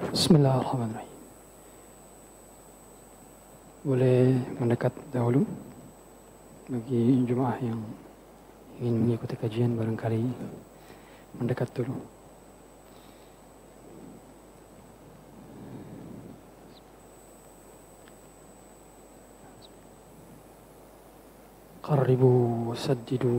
Bismillahirrahmanirrahim. Boleh mendekat dahulu bagi jemaah yang ingin mengikuti kajian, barangkali mendekat dulu. Qarribu saddidu.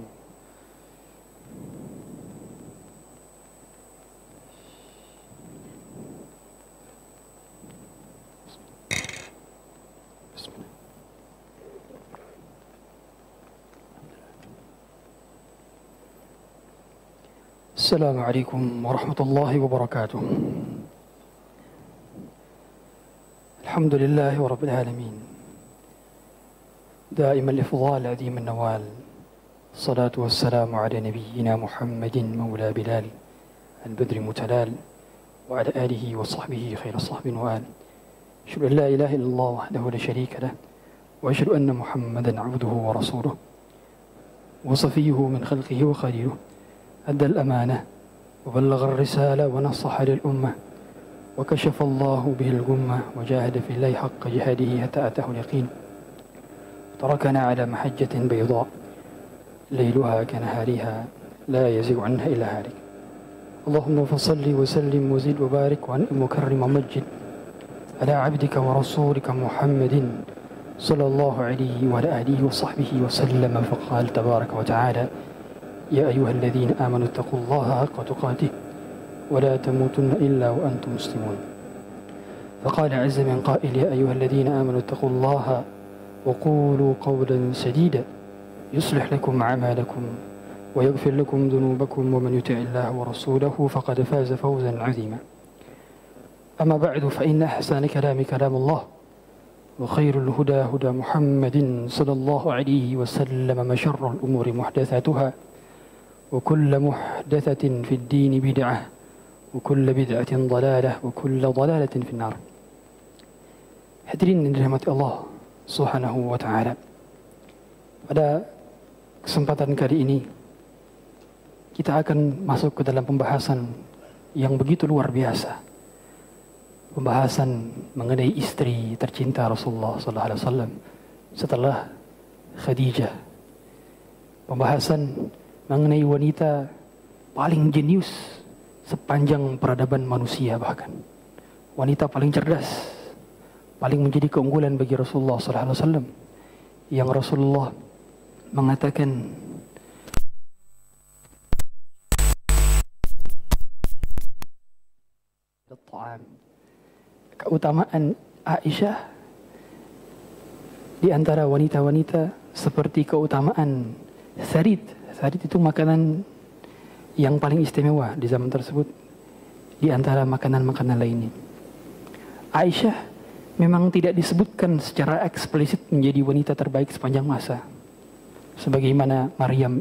السلام عليكم ورحمة الله وبركاته. الحمد لله رب العالمين، دائما الإفضال عظيم النوال، الصلاة والسلام على نبينا محمد مولى بلال البدر متلال، وعلى آله وصحبه خير الصحب وآل. أشهد أن لا إله إلا الله وحده لا شريك له، وأشهد أن محمدا عبده ورسوله وصفيه من خلقه وخليله، أدى الأمانة وبلغ الرسالة ونصح للأمة وكشف الله به الغمة وجاهد في الله حق جهاده حتى أتاه اليقين، تركنا على محجة بيضاء ليلها كنهارها لا يزيغ عنها إلا هالك. اللهم فصل وسلم وزد وبارك وأنعم وكرم ومجد على عبدك ورسولك محمد صلى الله عليه وعلى آله وصحبه وسلم. فقال تبارك وتعالى: يا أيها الذين آمنوا اتقوا الله حق تقاته ولا تموتن إلا وأنتم مسلمون. فقال عز من قائل: يا أيها الذين آمنوا اتقوا الله وقولوا قولا سديدا يصلح لكم أعمالكم ويغفر لكم ذنوبكم ومن يطع الله ورسوله فقد فاز فوزا عظيما. أما بعد، فإن أحسن كلام كلام الله، وخير الهدى هدى محمد صلى الله عليه وسلم، وشر الأمور محدثاتها، وكل محدثة في الدين بدعة، وكل بدعة ضلالة، وكل ضلالة في النار. Hadirin yang dirahmati Allah Subhanahu wa Ta'ala, pada kesempatan kali ini kita akan masuk ke dalam pembahasan yang begitu luar biasa, pembahasan mengenai istri tercinta Rasulullah sallallahu alaihi wasallam setelah Khadijah, pembahasan mengenai wanita paling jenius sepanjang peradaban manusia, bahkan wanita paling cerdas, paling menjadi keunggulan bagi Rasulullah sallallahu alaihi wasallam, yang Rasulullah mengatakan keutamaan Aisyah di antara wanita-wanita seperti keutamaan sarid. Sarid itu makanan yang paling istimewa di zaman tersebut di antara makanan-makanan lainnya. Aisyah memang tidak disebutkan secara eksplisit menjadi wanita terbaik sepanjang masa, sebagaimana Maryam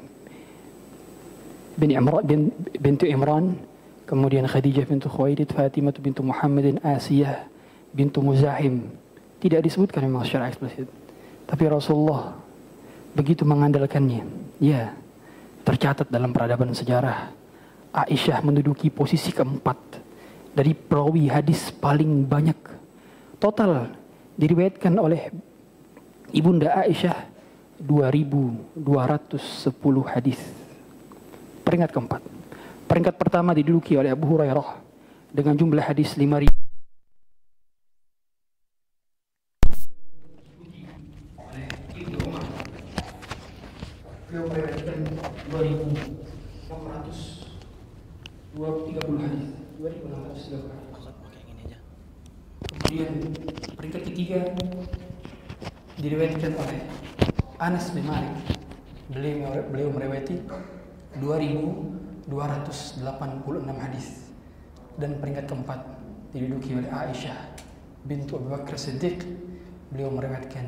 bintu Imran, kemudian Khadijah bintu Khuwailid, Fatimah bintu Muhammadin, Asiyah bintu Muzahim. Tidak disebutkan memang secara eksplisit, tapi Rasulullah begitu mengandalkannya. Ya, tercatat dalam peradaban sejarah, Aisyah menduduki posisi keempat dari perawi hadis paling banyak. Total diriwayatkan oleh Ibunda Aisyah 2.210 hadis. Peringkat keempat. Peringkat pertama diduduki oleh Abu Hurairah dengan jumlah hadis 5.000. Beliau meriwayatkan 2.630 hadis. 2.630 hadis. Kemudian peringkat ketiga diriwayatkan oleh Anas bin Malik. Beliau meriwayati 2.286 hadis. Dan peringkat keempat diduduki oleh Aisyah bintu Abu Bakar Siddiq. Beliau meriwayatkan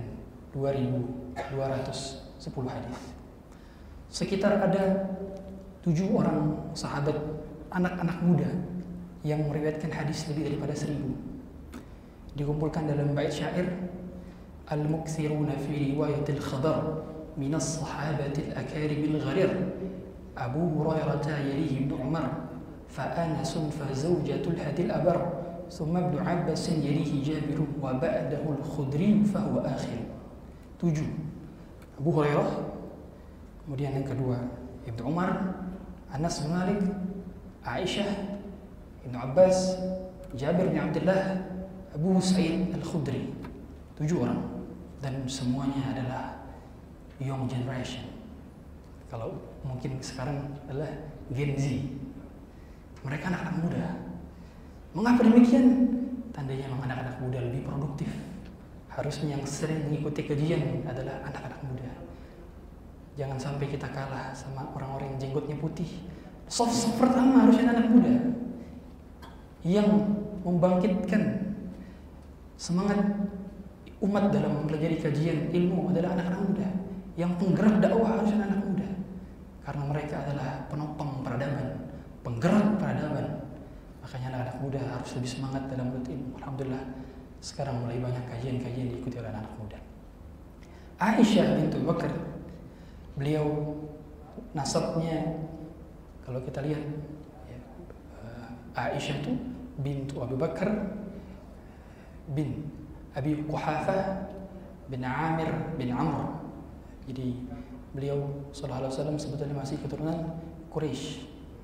2.210 hadis. Sekitar ada 7 orang sahabat anak-anak muda yang meriwayatkan hadis lebih daripada 1.000. Dikumpulkan dalam bait syair, al-mukthiruna fi riwayatil khadar min as-sahabatil akarimil gharir, Abu Hurairah yalihi Ibnu Umar fa Anasun fa zawjatul hadil abar thumma Ibnu Abbas yalihi Jabir wa ba'dahu al-Khudri fa huwa akhir. 7. Abu Hurairah, kemudian yang kedua Ibnu Umar, Anas bin Malik, Aisyah, Ibnu Abbas, Jabir bin Abdullah, Abu Sa'id Al-Khudri. 7 orang, dan semuanya adalah young generation. Kalau mungkin sekarang adalah Gen Z. Mereka anak-anak muda. Mengapa demikian? Tandanya memang anak-anak muda lebih produktif. Harusnya yang sering mengikuti kajian adalah anak-anak muda. Jangan sampai kita kalah sama orang-orang yang jenggotnya putih. Soft pertama harusnya anak muda. Yang membangkitkan semangat umat dalam mempelajari kajian ilmu adalah anak-anak muda. Yang penggerak dakwah harusnya anak muda. Karena mereka adalah penopang peradaban, penggerak peradaban. Makanya anak-anak muda harus lebih semangat dalam menuntut ilmu. Alhamdulillah, sekarang mulai banyak kajian-kajian diikuti oleh anak muda. Aisyah bintu Bakar, beliau nasabnya kalau kita lihat ya, Aisyah itu bintu Abu Bakar bin Abi Quhafah bin Amir bin Amr. Jadi beliau sallallahu alaihi wasallam sebetulnya masih keturunan Quraisy,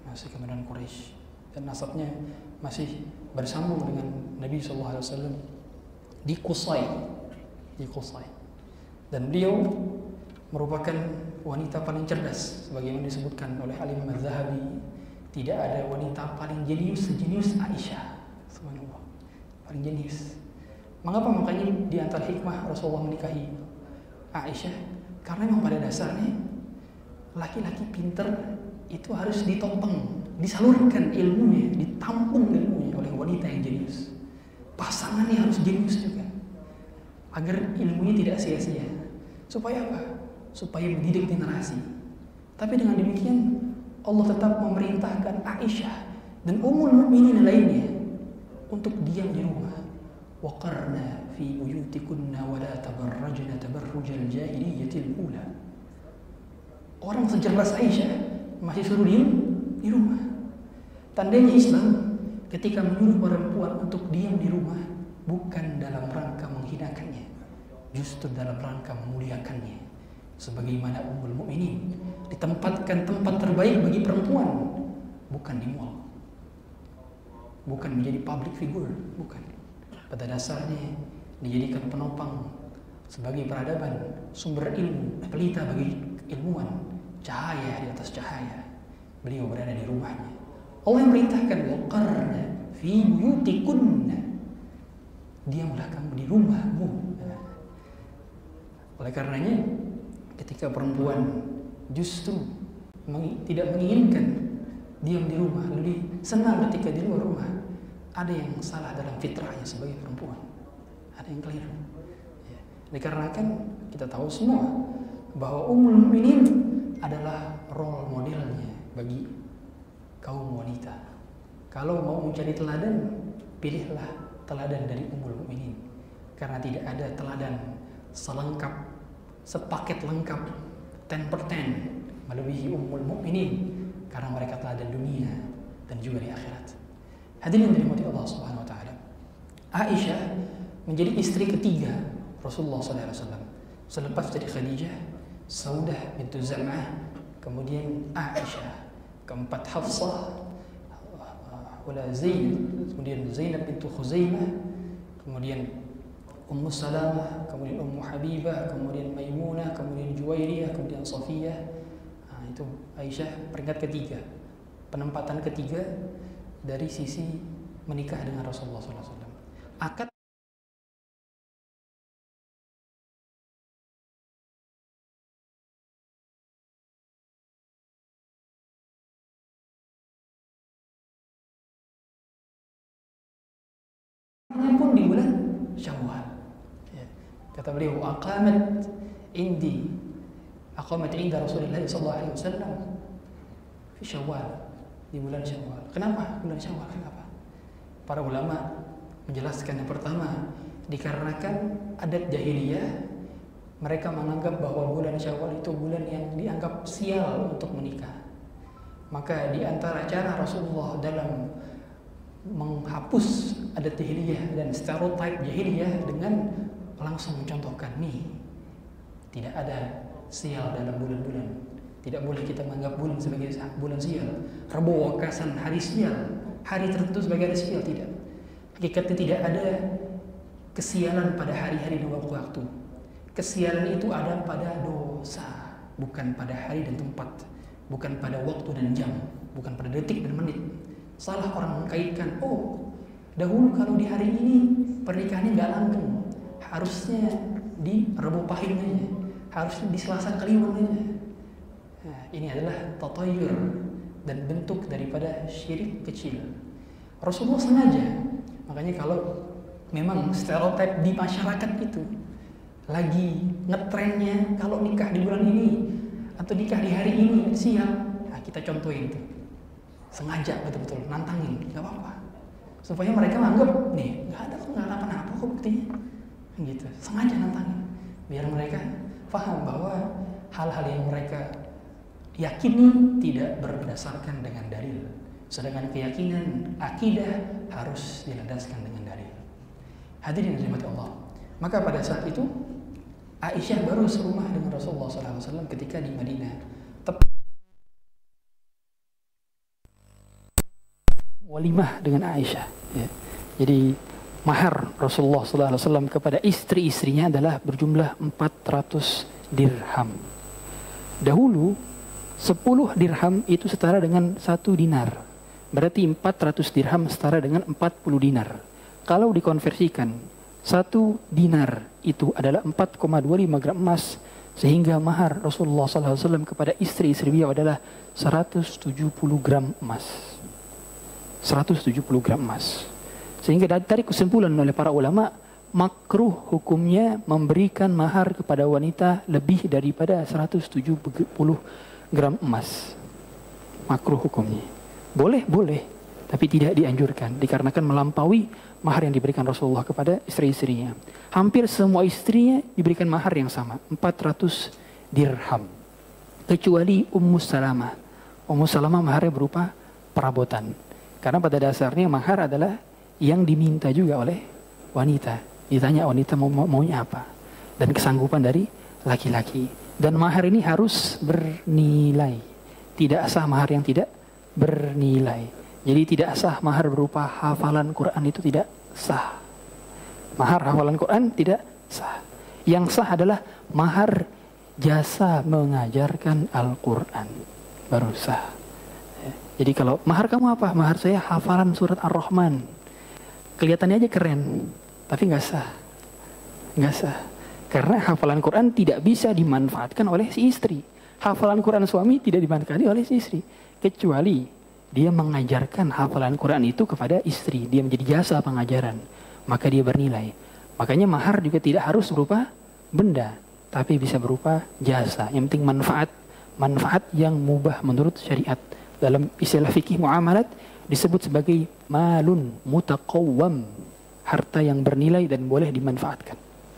dan nasabnya masih bersambung dengan Nabi sallallahu alaihi wasallam di Qusay. Dan beliau merupakan wanita paling cerdas, sebagaimana disebutkan oleh Al-Imam Az-Zahabi. Tidak ada wanita paling jenius sejenius Aisyah. Subhanallah, paling jenius. Mengapa? Makanya di antara hikmah Rasulullah menikahi Aisyah, karena memang pada dasarnya laki-laki pinter itu harus ditopang, disalurkan ilmunya, ditampung ilmunya oleh wanita yang jenius. Pasangannya harus jenius juga, agar ilmunya tidak sia-sia. Supaya apa? Supaya mendidik generasi. Tapi dengan demikian Allah tetap memerintahkan Aisyah dan Ummul Mukminin lainnya untuk diam di rumah. Waqarna fi buyutikunna wa la tabarrajna tabarrujal jahiliyatil ula. Orang secerdas Aisyah masih suruh diam di rumah. Tandanya Islam ketika menyuruh perempuan untuk diam di rumah bukan dalam rangka menghinakannya, justru dalam rangka memuliakannya. Sebagaimana Ummul Mukminin ditempatkan tempat terbaik bagi perempuan, bukan di mall, bukan menjadi public figure, bukan. Pada dasarnya dijadikan penopang sebagai peradaban, sumber ilmu, pelita bagi ilmuwan, cahaya di atas cahaya. Beliau berada di rumahnya. Allah yang perintahkan, waqarna fi buyutikunna, diamlah kamu di rumahmu. Oleh karenanya, ketika perempuan justru tidak menginginkan diam di rumah, lebih senang ketika di luar rumah, ada yang salah dalam fitrahnya sebagai perempuan, ada yang keliru. Ya. Dikarenakan kita tahu semua bahwa Ummul Mukminin adalah role modelnya bagi kaum wanita. Kalau mau mencari teladan, pilihlah teladan dari Ummul Mukminin, karena tidak ada teladan selengkap, sepaket lengkap 10 per 10 melebihi Ummul Mukminin, karena mereka teladan dunia dan juga di akhirat. Hadirin dirahmati Allah Subhanahu wa taala. Aisyah menjadi istri ketiga Rasulullah sallallahu alaihi wasallam. Selepas dari Khadijah, Saudah bintu Zam'ah, kemudian Aisyah, keempat Hafsah, wala Zainab, kemudian Zainab bintu Khuzaimah, kemudian Ummu Salamah, kemudian Ummu Habibah, kemudian Maimunah, kemudian Juwairiyah, kemudian Safiyah. Itu Aisyah peringkat ketiga, penempatan ketiga dari sisi menikah dengan Rasulullah SAW. Akad pun di bulan Syawal. Ya. Kata beliau, aqamat inda Rasulullah SAW fi Syawal, di bulan Syawal. Kenapa bulan Syawal? Kenapa? Para ulama menjelaskan, yang pertama, dikarenakan adat jahiliyah, mereka menganggap bahwa bulan Syawal itu bulan yang dianggap sial untuk menikah. Maka di antara cara Rasulullah dalam menghapus adat jahiliyah dan stereotip jahiliyah dengan langsung mencontohkan nih, tidak ada sial dalam bulan-bulan, tidak boleh kita menganggap bulan sebagai bulan sial, Rebo wakasan hari sial, hari tertentu sebagai hari sial, tidak. Hakikatnya tidak ada kesialan pada hari-hari dan waktu-waktu. Kesialan itu ada pada dosa, bukan pada hari dan tempat, bukan pada waktu dan jam, bukan pada detik dan menit. Salah orang mengkaitkan, oh dahulu kalau di hari ini pernikahannya nggak langgeng, harusnya di Rebo Pahing aja, harusnya di Selasa Kliwon aja. Nah, ini adalah tatayur dan bentuk daripada syirik kecil. Rasulullah sengaja, makanya kalau memang stereotip di masyarakat itu lagi ngetrennya kalau nikah di bulan ini atau nikah di hari ini siang, nah kita contohin tuh, sengaja betul-betul nantangin, nggak apa-apa, supaya mereka anggap nih nggak ada apa-apa kok buktinya, gitu. Sengaja nantangin biar mereka paham bahwa hal-hal yang mereka yakini tidak berdasarkan dengan dalil, sedangkan keyakinan akidah harus dilandaskan dengan dalil. Hadirin yang dirahmati Allah, maka pada saat itu Aisyah baru serumah dengan Rasulullah SAW ketika di Madinah. Walimah dengan Aisyah. Ya. Jadi mahar Rasulullah SAW kepada istri-istrinya adalah berjumlah 400 dirham. Dahulu 10 dirham itu setara dengan 1 dinar. Berarti 400 dirham setara dengan 40 dinar. Kalau dikonversikan, 1 dinar itu adalah 4,25 gram emas, sehingga mahar Rasulullah SAW kepada istri-istri beliau adalah 170 gram emas. 170 gram emas. Sehingga dari kesimpulan oleh para ulama, makruh hukumnya memberikan mahar kepada wanita lebih daripada 170 gram emas. Makruh hukumnya. Boleh, tapi tidak dianjurkan dikarenakan melampaui mahar yang diberikan Rasulullah kepada istri-istrinya. Hampir semua istrinya diberikan mahar yang sama, 400 dirham. Kecuali Ummu Salamah. Ummu Salamah maharnya berupa perabotan. Karena pada dasarnya mahar adalah yang diminta juga oleh wanita. Ditanya wanita maunya apa. Dan kesanggupan dari laki-laki. Dan mahar ini harus bernilai. Tidak sah mahar yang tidak bernilai. Jadi tidak sah mahar berupa hafalan Quran, itu tidak sah. Mahar hafalan Quran tidak sah. Yang sah adalah mahar jasa mengajarkan Al-Quran. Baru sah. Jadi kalau mahar kamu apa? Mahar saya hafalan surat Ar-Rahman. Kelihatannya aja keren, tapi nggak sah. Nggak sah. Karena hafalan Quran tidak bisa dimanfaatkan oleh si istri. Hafalan Quran suami tidak dimanfaatkan oleh si istri. Kecuali dia mengajarkan hafalan Quran itu kepada istri. Dia menjadi jasa pengajaran. Maka dia bernilai. Makanya mahar juga tidak harus berupa benda. Tapi bisa berupa jasa. Yang penting manfaat. Manfaat yang mubah menurut syariat. Dalam istilah fikih muamalat disebut sebagai malun mutaqawwam. Harta yang bernilai dan boleh dimanfaatkan.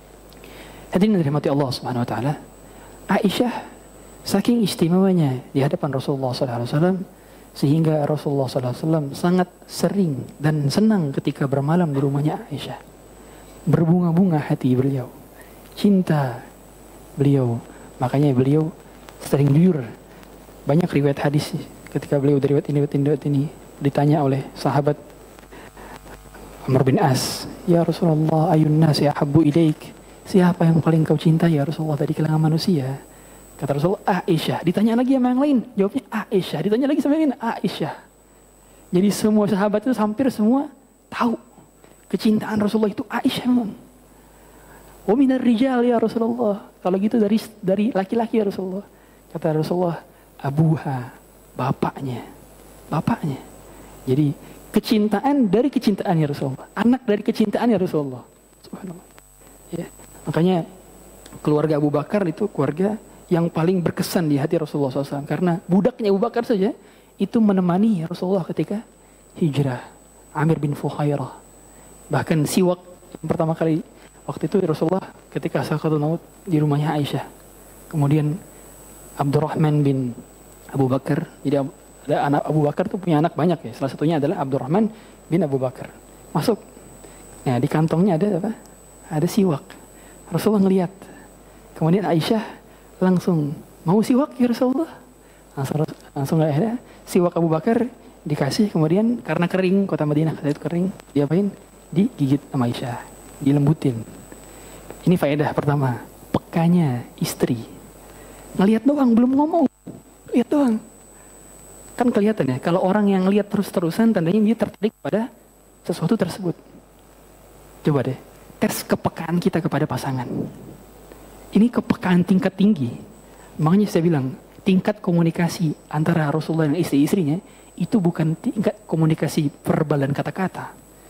Hadirin dirahmati Allah Subhanahu wa taala. Aisyah saking istimewanya di hadapan Rasulullah SAW, sehingga Rasulullah SAW sangat sering dan senang ketika bermalam di rumahnya Aisyah. Berbunga-bunga hati beliau, cinta beliau. Makanya beliau sering jujur. Banyak riwayat hadis ketika beliau dari riwayat ini ditanya oleh sahabat Amr bin As, "Ya Rasulullah, ayun nasi ahabbu ilaik?" Siapa yang paling kau cintai ya Rasulullah dari kalangan manusia? Kata Rasulullah, Aisyah. Ditanya lagi sama yang lain, jawabnya Aisyah. Ditanya lagi sama yang lain, Aisyah. Jadi semua sahabat itu hampir semua tahu kecintaan Rasulullah itu Aisyah memang. Wa minar rijal ya Rasulullah. Kalau gitu dari laki-laki ya Rasulullah. Kata Rasulullah, abuha, bapaknya. Bapaknya. Jadi kecintaan dari kecintaan ya Rasulullah. Anak dari kecintaan ya Rasulullah. Subhanallah. Ya. Makanya keluarga Abu Bakar itu keluarga yang paling berkesan di hati Rasulullah SAW. Karena budaknya Abu Bakar saja itu menemani Rasulullah ketika hijrah. Amir bin Fuhairah. Bahkan siwak yang pertama kali waktu itu Rasulullah ketika sakaratul maut di rumahnya Aisyah. Kemudian Abdurrahman bin Abu Bakar. Jadi Ada anak Abu Bakar tuh punya anak banyak ya. Salah satunya adalah Abdurrahman bin Abu Bakar. Masuk. Nah, di kantongnya ada apa? Ada siwak. Rasulullah ngelihat. Kemudian Aisyah langsung, mau siwak ya Rasulullah? Langsung nggak ada. Siwak Abu Bakar dikasih, kemudian karena kering, kota Madinah saat itu kering, diapain? Digigit sama Aisyah, dilembutin. Ini faedah pertama, pekanya istri. Ngelihat doang, belum ngomong. Lihat doang. Kan kelihatan ya, kalau orang yang lihat terus-terusan, tandanya dia tertarik pada sesuatu tersebut. Coba deh, tes kepekaan kita kepada pasangan. Ini kepekaan tingkat tinggi. Makanya saya bilang, tingkat komunikasi antara Rasulullah dan istri-istrinya, itu bukan tingkat komunikasi verbal dan kata-kata.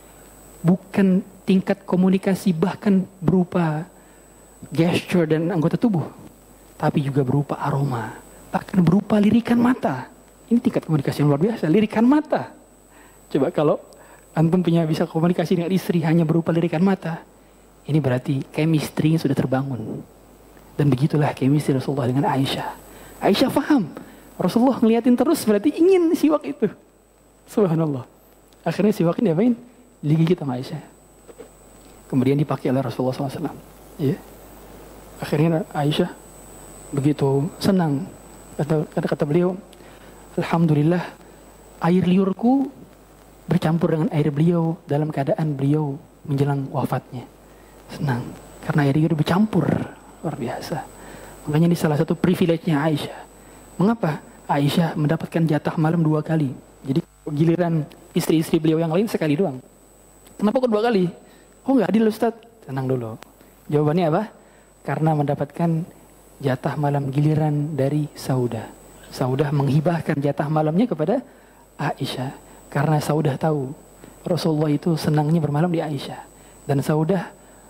Bukan tingkat komunikasi bahkan berupa gesture dan anggota tubuh. Tapi juga berupa aroma. Bahkan berupa lirikan mata. Ini tingkat komunikasi yang luar biasa, lirikan mata. Coba kalau antum bisa komunikasi dengan istri hanya berupa lirikan mata, ini berarti chemistry sudah terbangun. Dan begitulah chemistry Rasulullah dengan Aisyah. Aisyah paham, Rasulullah ngeliatin terus berarti ingin siwak itu. Subhanallah. Akhirnya siwak ini diapain? Digigit sama Aisyah. Kemudian dipakai oleh Rasulullah SAW. Ya. Akhirnya Aisyah begitu senang. Kata beliau, Alhamdulillah, air liurku bercampur dengan air beliau dalam keadaan beliau menjelang wafatnya. Senang, karena air liur bercampur, luar biasa. Makanya ini salah satu privilege-nya Aisyah. Mengapa Aisyah mendapatkan jatah malam 2 kali? Jadi giliran istri-istri beliau yang lain sekali doang. Kenapa kok 2 kali? Oh nggak adil Ustaz? Tenang dulu. Jawabannya apa? Karena mendapatkan jatah malam giliran dari Saudah. Saudah menghibahkan jatah malamnya kepada Aisyah. Karena Saudah tahu Rasulullah itu senangnya bermalam di Aisyah. Dan Saudah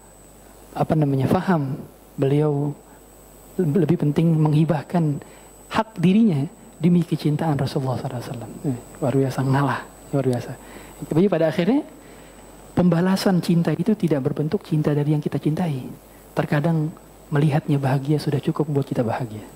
faham beliau lebih penting menghibahkan hak dirinya demi kecintaan Rasulullah SAW. Luar biasa, ngalah. Luar biasa. Tapi pada akhirnya pembalasan cinta itu tidak berbentuk cinta dari yang kita cintai. Terkadang melihatnya bahagia sudah cukup membuat kita bahagia.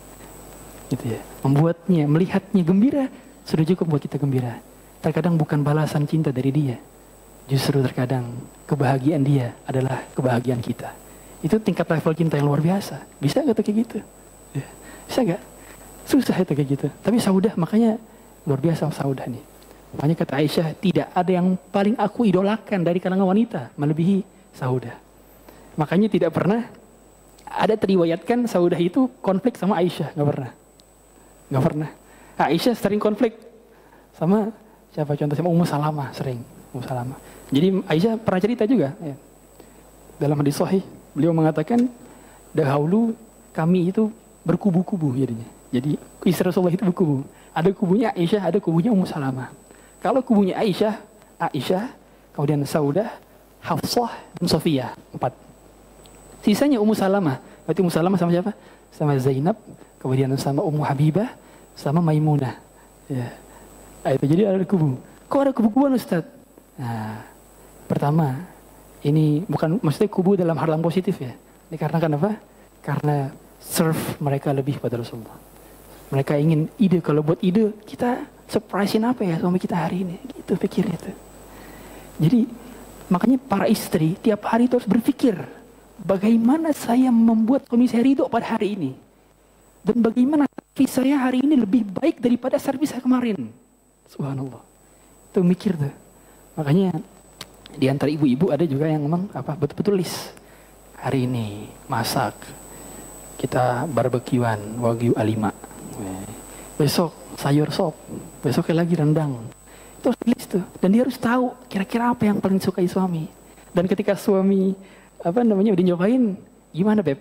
Gitu ya. Melihatnya gembira sudah cukup membuat kita gembira. Terkadang bukan balasan cinta dari dia. Justru terkadang kebahagiaan dia adalah kebahagiaan kita. Itu tingkat level cinta yang luar biasa. Bisa gak tuh kayak gitu? Ya. Bisa gak? Susah itu kayak gitu. Tapi Saudah makanya luar biasa Saudah nih. Makanya kata Aisyah, tidak ada yang paling aku idolakan dari kalangan wanita melebihi Saudah. Makanya tidak pernah ada teriwayatkan Saudah itu konflik sama Aisyah. Gak pernah. Gak pernah. Aisyah sering konflik sama siapa contoh? Sama Ummu Salamah sering. Ummu Salamah. Jadi Aisyah pernah cerita juga. Ya. Dalam hadis sahih, beliau mengatakan, dahulu kami itu berkubu-kubu jadinya. Jadi istri Rasulullah itu berkubu. Ada kubunya Aisyah, ada kubunya Ummu Salamah. Kalau kubunya Aisyah, kemudian Saudah, Hafsah, dan Sofiyah. 4. Sisanya Ummu Salamah. Berarti Ummu Salamah sama siapa? Sama Zainab, kemudian sama Ummu Habibah, sama Maimunah. Ya. Nah, itu jadi ada kubu. Kok ada kubu-kubuan Ustaz? Nah, pertama, ini bukan maksudnya kubu dalam hal yang positif ya. Dikarenakan apa? Karena serve mereka lebih pada Rasulullah. Mereka ingin ide, kalau buat ide, kita surprisein apa ya suami kita hari ini? Gitu pikirnya tuh. Jadi, makanya para istri tiap hari itu harus berpikir, bagaimana saya membuat suami saya ridho pada hari ini? Dan bagaimana servis saya hari ini lebih baik daripada servis saya kemarin? Subhanallah. Itu mikir tuh. Makanya di antara ibu-ibu ada juga yang memang betul-betul list. Hari ini masak, kita barbekyuan Wagyu A5. Besok sayur sop, besoknya lagi rendang. Itu harus list tuh. Dan dia harus tahu kira-kira apa yang paling disukai suami. Dan ketika suami udah nyobain, gimana Beb?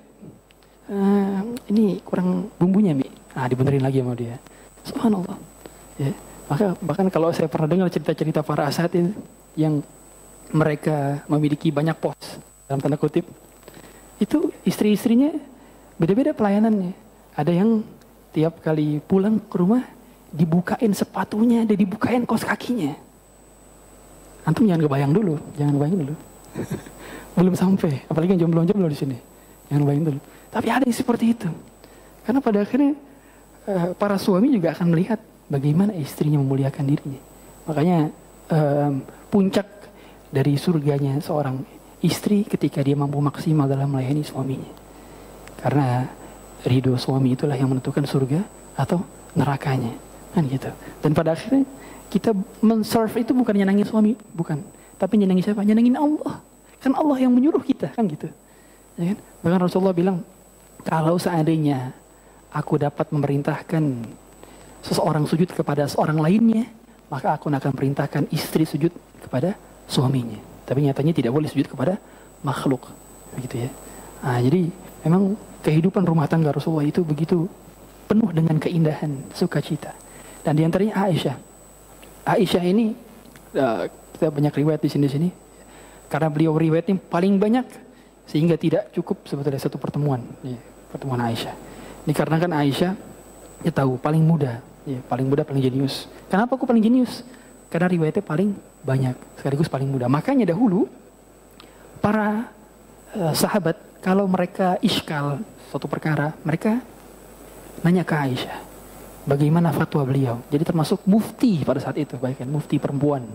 Ini kurang bumbunya Mi. Dibenerin lagi sama dia. Subhanallah. Ya. Maka bahkan kalau saya pernah dengar cerita-cerita para asatidz yang mereka memiliki banyak pos dalam tanda kutip, itu istri-istrinya beda-beda pelayanannya. Ada yang tiap kali pulang ke rumah dibukain sepatunya dan dibukain kaos kakinya. Antum jangan kebayang dulu, belum sampai, apalagi yang jomblo-jomblo di sini, jangan bayangin dulu. Tapi ada yang seperti itu, karena pada akhirnya para suami juga akan melihat bagaimana istrinya memuliakan dirinya. Makanya puncak dari surganya seorang istri ketika dia mampu maksimal dalam melayani suaminya. Karena ridho suami itulah yang menentukan surga atau nerakanya, kan gitu. Dan pada akhirnya kita men-serve itu bukan nyenangin suami, bukan, tapi nyenangin siapa? Nyenangin Allah. Kan Allah yang menyuruh kita, kan gitu. Ya kan? Bahkan Rasulullah bilang, kalau seandainya aku dapat memerintahkan seseorang sujud kepada seorang lainnya, maka aku akan perintahkan istri sujud kepada suaminya. Tapi nyatanya tidak boleh sujud kepada makhluk, begitu ya. Nah, jadi memang kehidupan rumah tangga Rasulullah itu begitu penuh dengan keindahan, sukacita. Dan diantaranya Aisyah. Aisyah ini kita banyak riwayat di sini, karena beliau riwayatnya paling banyak sehingga tidak cukup sebetulnya satu pertemuan, ya, pertemuan Aisyah. Dikarenakan Aisyah kita tahu paling muda, ya, paling jenius. Kenapa aku paling jenius? Karena riwayatnya paling banyak, sekaligus paling muda. Makanya dahulu para sahabat kalau mereka iskal suatu perkara, mereka nanya ke Aisyah, bagaimana fatwa beliau. Jadi termasuk mufti pada saat itu, baik kan, mufti perempuan.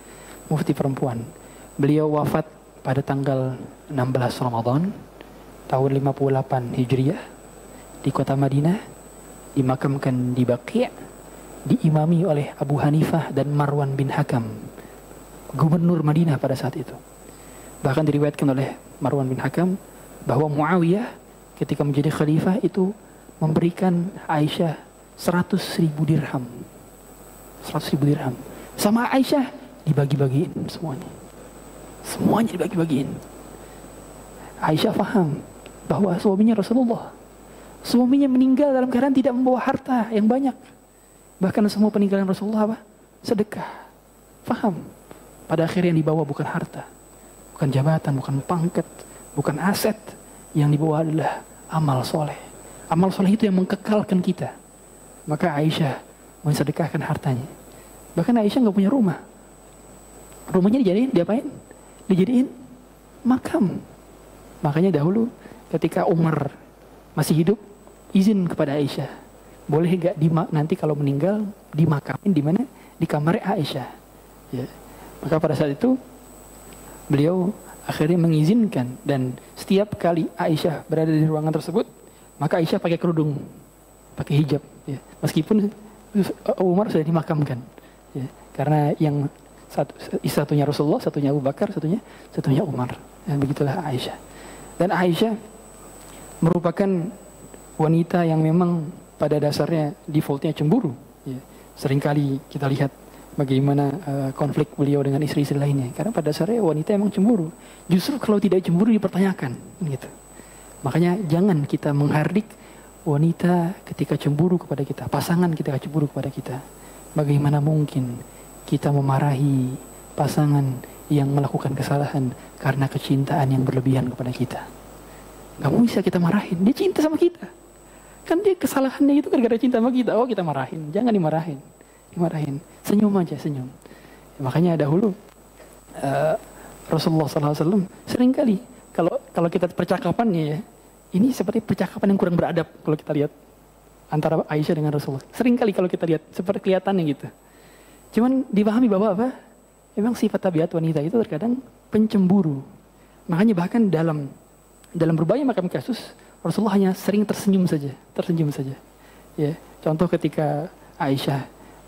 Beliau wafat pada tanggal 16 Ramadan tahun 58 Hijriah di kota Madinah, dimakamkan di Baqi', diimami oleh Abu Hanifah dan Marwan bin Hakam, gubernur Madinah pada saat itu. Bahkan diriwayatkan oleh Marwan bin Hakam bahwa Muawiyah ketika menjadi khalifah itu memberikan Aisyah 100.000 dirham. 100.000 dirham. Sama Aisyah dibagi-bagiin semuanya. Semuanya dibagi-bagiin. Aisyah paham bahwa suaminya Rasulullah. Suaminya meninggal dalam keadaan tidak membawa harta yang banyak. Bahkan semua peninggalan Rasulullah apa? Sedekah. Paham. Pada akhirnya yang dibawa bukan harta, bukan jabatan, bukan pangkat, bukan aset. Yang dibawa adalah amal soleh. Amal soleh itu yang mengkekalkan kita. Maka Aisyah mensedekahkan hartanya. Bahkan Aisyah nggak punya rumah. Rumahnya diapain? Dijadiin makam. Makanya dahulu ketika Umar masih hidup, izin kepada Aisyah, boleh gak nanti kalau meninggal dimakamin di mana? Di kamar Aisyah. Ya. Maka pada saat itu beliau akhirnya mengizinkan, dan setiap kali Aisyah berada di ruangan tersebut, maka Aisyah pakai kerudung, pakai hijab. Ya. Meskipun Umar sudah dimakamkan. Ya. Karena yang satunya Rasulullah, satunya Abu Bakar, satunya Umar. Ya, begitulah Aisyah. Dan Aisyah merupakan wanita yang memang pada dasarnya defaultnya cemburu. Ya. Seringkali kita lihat bagaimana konflik beliau dengan istri-istri lainnya. Karena pada dasarnya wanita emang cemburu. Justru kalau tidak cemburu dipertanyakan. Gitu. Makanya jangan kita menghardik wanita ketika cemburu kepada kita. Pasangan ketika cemburu kepada kita. Bagaimana mungkin kita memarahi pasangan yang melakukan kesalahan karena kecintaan yang berlebihan kepada kita. Gak bisa kita marahin. Dia cinta sama kita. Kan dia kesalahannya itu gara-gara cinta sama kita. Oh, kita marahin. Jangan dimarahin. Senyum aja, senyum. Ya, makanya dahulu Rasulullah SAW seringkali kalau kita percakapannya ya, ini seperti percakapan yang kurang beradab kalau kita lihat antara Aisyah dengan Rasulullah. Seringkali kalau kita lihat seperti kelihatannya gitu. Cuman dipahami bahwa apa? Memang sifat tabiat wanita itu terkadang pencemburu. Makanya bahkan dalam berbagai macam kasus Rasulullah hanya sering tersenyum saja. Ya, contoh ketika Aisyah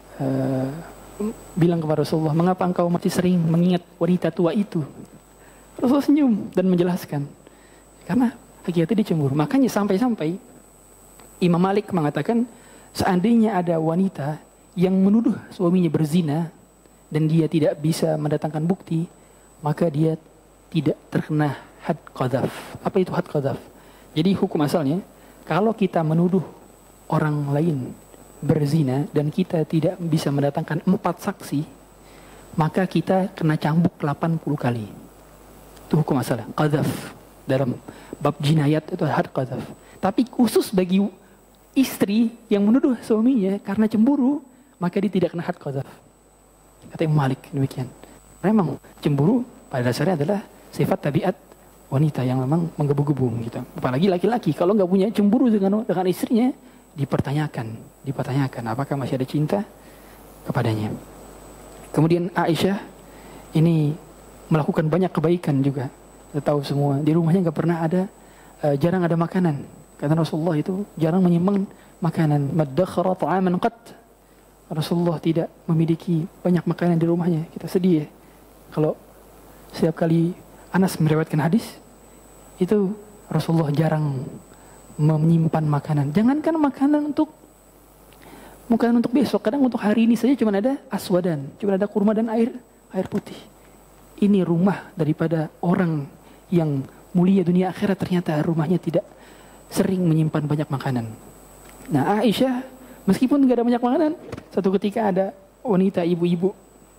bilang kepada Rasulullah, mengapa engkau masih sering mengingat wanita tua itu? Rasulullah senyum dan menjelaskan, karena hakikatnya dia cemburu. Makanya sampai-sampai Imam Malik mengatakan, seandainya ada wanita yang menuduh suaminya berzina dan dia tidak bisa mendatangkan bukti, maka dia tidak terkena had qadhaf. Apa itu had qadhaf? Jadi hukum asalnya, kalau kita menuduh orang lain berzina dan kita tidak bisa mendatangkan 4 saksi, maka kita kena cambuk 80 kali. Itu hukum asalnya, qadhaf. Dalam bab jinayat itu had qadhaf. Tapi khusus bagi istri yang menuduh suaminya karena cemburu, maka dia tidak kena had qadhaf. Kata Imam Malik demikian. Memang cemburu pada dasarnya adalah sifat tabiat wanita yang memang menggebu-gebu gitu. Apalagi laki-laki kalau nggak punya cemburu dengan istrinya, dipertanyakan apakah masih ada cinta kepadanya. Kemudian Aisyah ini melakukan banyak kebaikan juga. Kita tahu semua di rumahnya nggak pernah ada jarang ada makanan. Karena Rasulullah itu jarang menyimpan makanan. Maddakhara ta'aman qat. Rasulullah tidak memiliki banyak makanan di rumahnya. Kita sedih ya. Kalau setiap kali Anas meriwayatkan hadis, itu Rasulullah jarang menyimpan makanan. Jangankan makanan untuk besok, kadang untuk hari ini saja cuma ada aswadan, cuma ada kurma dan air putih. Ini rumah daripada orang yang mulia dunia akhirat, ternyata rumahnya tidak sering menyimpan banyak makanan. Nah, Aisyah meskipun tidak ada banyak makanan, satu ketika ada wanita ibu-ibu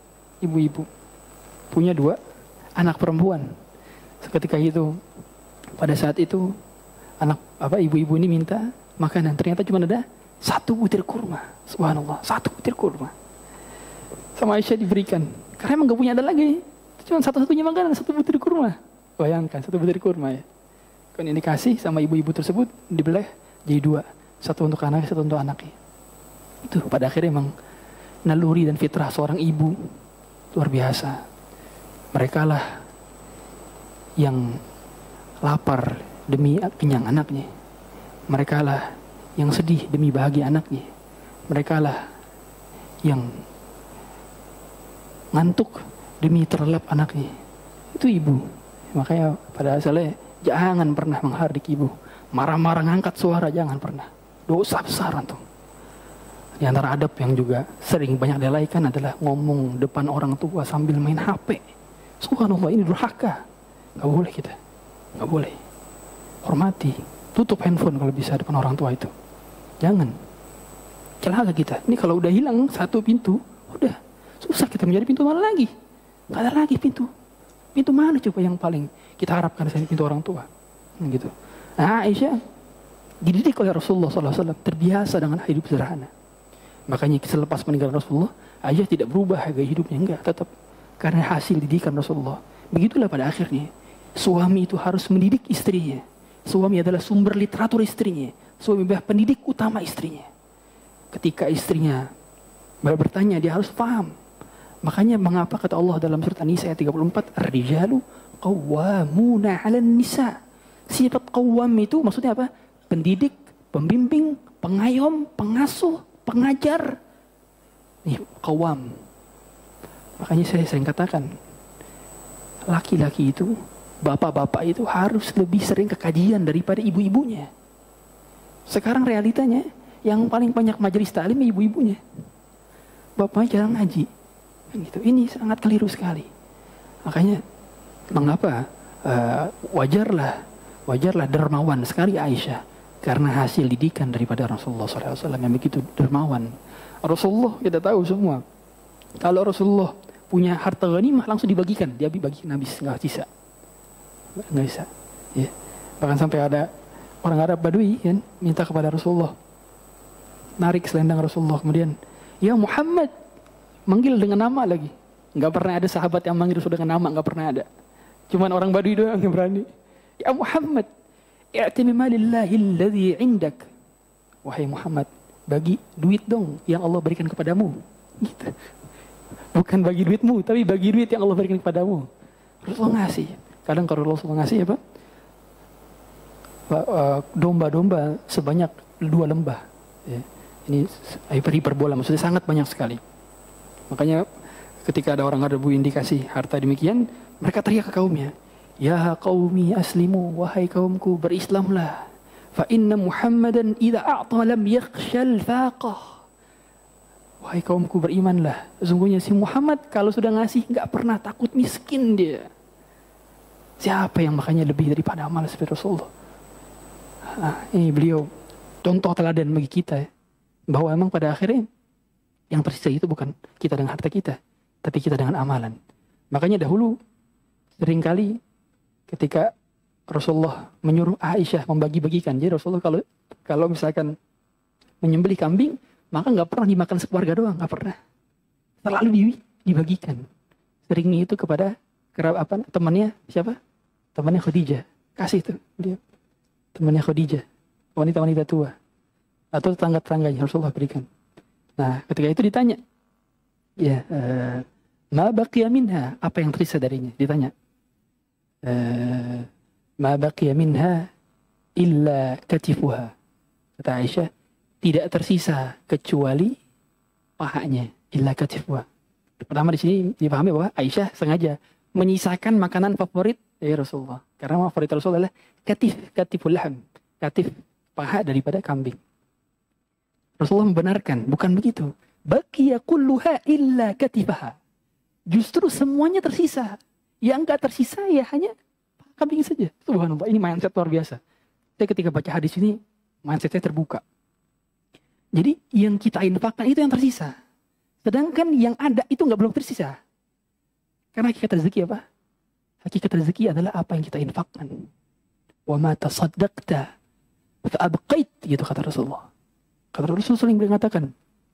punya 2 anak perempuan. Seketika itu, pada saat itu ibu-ibu ini minta makanan, ternyata cuma ada 1 butir kurma. Subhanallah, 1 butir kurma. Sama Aisyah diberikan. Karena emang gak punya ada lagi. Cuma satu-satunya makanan, 1 butir kurma. Bayangkan, 1 butir kurma ya. Kan ini dikasih sama ibu-ibu tersebut, dibelah jadi 2. 1 untuk anak, 1 untuk anaknya. Itu pada akhirnya emang naluri dan fitrah seorang ibu luar biasa. Mereka lah yang lapar demi kenyang anaknya. Mereka lah yang sedih demi bahagia anaknya. Mereka lah yang ngantuk demi terlelap anaknya. Itu ibu. Makanya pada asalnya jangan pernah menghardik ibu. Marah-marah ngangkat suara jangan pernah. Dosa besar antum. Di antara adab yang juga sering banyak dilaikan adalah ngomong depan orang tua sambil main HP. Subhanallah, ini durhaka. Gak boleh kita. Gak boleh. Hormati. Tutup handphone kalau bisa depan orang tua itu. Jangan. Celaka kita. Ini kalau udah hilang 1 pintu, udah susah kita menjadi pintu mana lagi. Gak ada lagi pintu. Pintu mana coba yang paling kita harapkan selain pintu orang tua. Gitu. Nah, Aisyah dididik oleh Rasulullah SAW, terbiasa dengan hidup sederhana. Makanya selepas meninggal Rasulullah, Aisyah tidak berubah gaya hidupnya, enggak, tetap karena hasil didikan Rasulullah. Begitulah pada akhirnya suami itu harus mendidik istrinya. Suami adalah sumber literatur istrinya. Suami adalah pendidik utama istrinya. Ketika istrinya bertanya, dia harus paham. Makanya mengapa kata Allah dalam surat An-Nisa ayat 34, Ar-rijalu qawwamuna 'alan nisa. Sifat qawwam itu maksudnya apa? Pendidik, pembimbing, pengayom, pengasuh, pengajar. Nih, qawwam. Makanya saya sering katakan, laki-laki itu, bapak-bapak itu harus lebih sering ke kajian daripada ibu-ibunya. Sekarang realitanya, yang paling banyak majelis ta'lim ibu-ibunya. Bapaknya jarang ngaji. Gitu. Ini sangat keliru sekali. Makanya, mengapa wajarlah dermawan sekali Aisyah. Karena hasil didikan daripada Rasulullah SAW yang begitu dermawan. Rasulullah kita tahu semua. Kalau Rasulullah punya harta ghanimah langsung dibagikan. Dia bagikan habis, nggak bisa. Ya. Bahkan sampai ada orang Arab Badui kan minta kepada Rasulullah, narik selendang Rasulullah, kemudian ya Muhammad, manggil dengan nama lagi. Nggak pernah ada sahabat yang manggil Rasul dengan nama, nggak pernah ada. Cuman orang Badui doang yang berani. Ya Muhammad, i'timi malillahi alladhi indak. Wahai Muhammad, bagi duit dong yang Allah berikan kepadamu. Gitu. Bukan bagi duitmu, tapi bagi duit yang Allah berikan kepadamu. Rasulullah ngasih. Kadang kalau Rasulullah ngasih apa? Domba-domba sebanyak 2 lembah. Ya. Ini hiperbola, maksudnya sangat banyak sekali. Makanya ketika ada orang Arab yang dikasih harta demikian, mereka teriak ke kaumnya, ya qaumi aslimu, wahai kaumku berislamlah. Fa inna Muhammadan idza a'ta lam yakhshal faqah. Wahai kaumku berimanlah. Sesungguhnya si Muhammad kalau sudah ngasih nggak pernah takut miskin dia. Siapa yang makanya lebih daripada amal seperti Rasulullah? Ini beliau contoh teladan bagi kita ya. Bahwa emang pada akhirnya yang tersisa itu bukan kita dengan harta kita, tapi kita dengan amalan. Makanya dahulu seringkali ketika Rasulullah menyuruh Aisyah membagi-bagikan. Jadi Rasulullah kalau misalkan menyembelih kambing, maka nggak pernah dimakan sekeluarga doang, nggak pernah. Selalu dibagikan. Seringnya itu kepada temannya siapa? Temannya Khadijah. Kasih tuh dia. Temannya Khadijah. Wanita-wanita tua. atau tetangga-tetangganya Rasulullah berikan. Nah, ketika itu ditanya, ya, ma baqiya minha, apa yang tersisa darinya? Ditanya, ma baqiya minha illa katifuha. Kata Aisyah, tidak tersisa kecuali pahanya, illa katifuha. Pertama di sini dipahami bahwa Aisyah sengaja menyisakan makanan favorit dari Rasulullah. Karena favorit Rasulullah adalah katiful laham, katif paha daripada kambing. Rasulullah membenarkan, bukan begitu. Baqiya kulluha illa katifaha. Justru semuanya tersisa. Yang enggak tersisa ya hanya kambing saja. Subhanallah, ini mindset luar biasa. Saya ketika baca hadis ini, mindset saya terbuka. Jadi yang kita infakkan itu yang tersisa. Sedangkan yang ada itu enggak belum tersisa. Karena hakikat rezeki apa? Hakikat rezeki adalah apa yang kita infakkan. Wa ma tasaddaqta fa abqait, gitu kata Rasulullah. Kata Rasulullah sering mengatakan,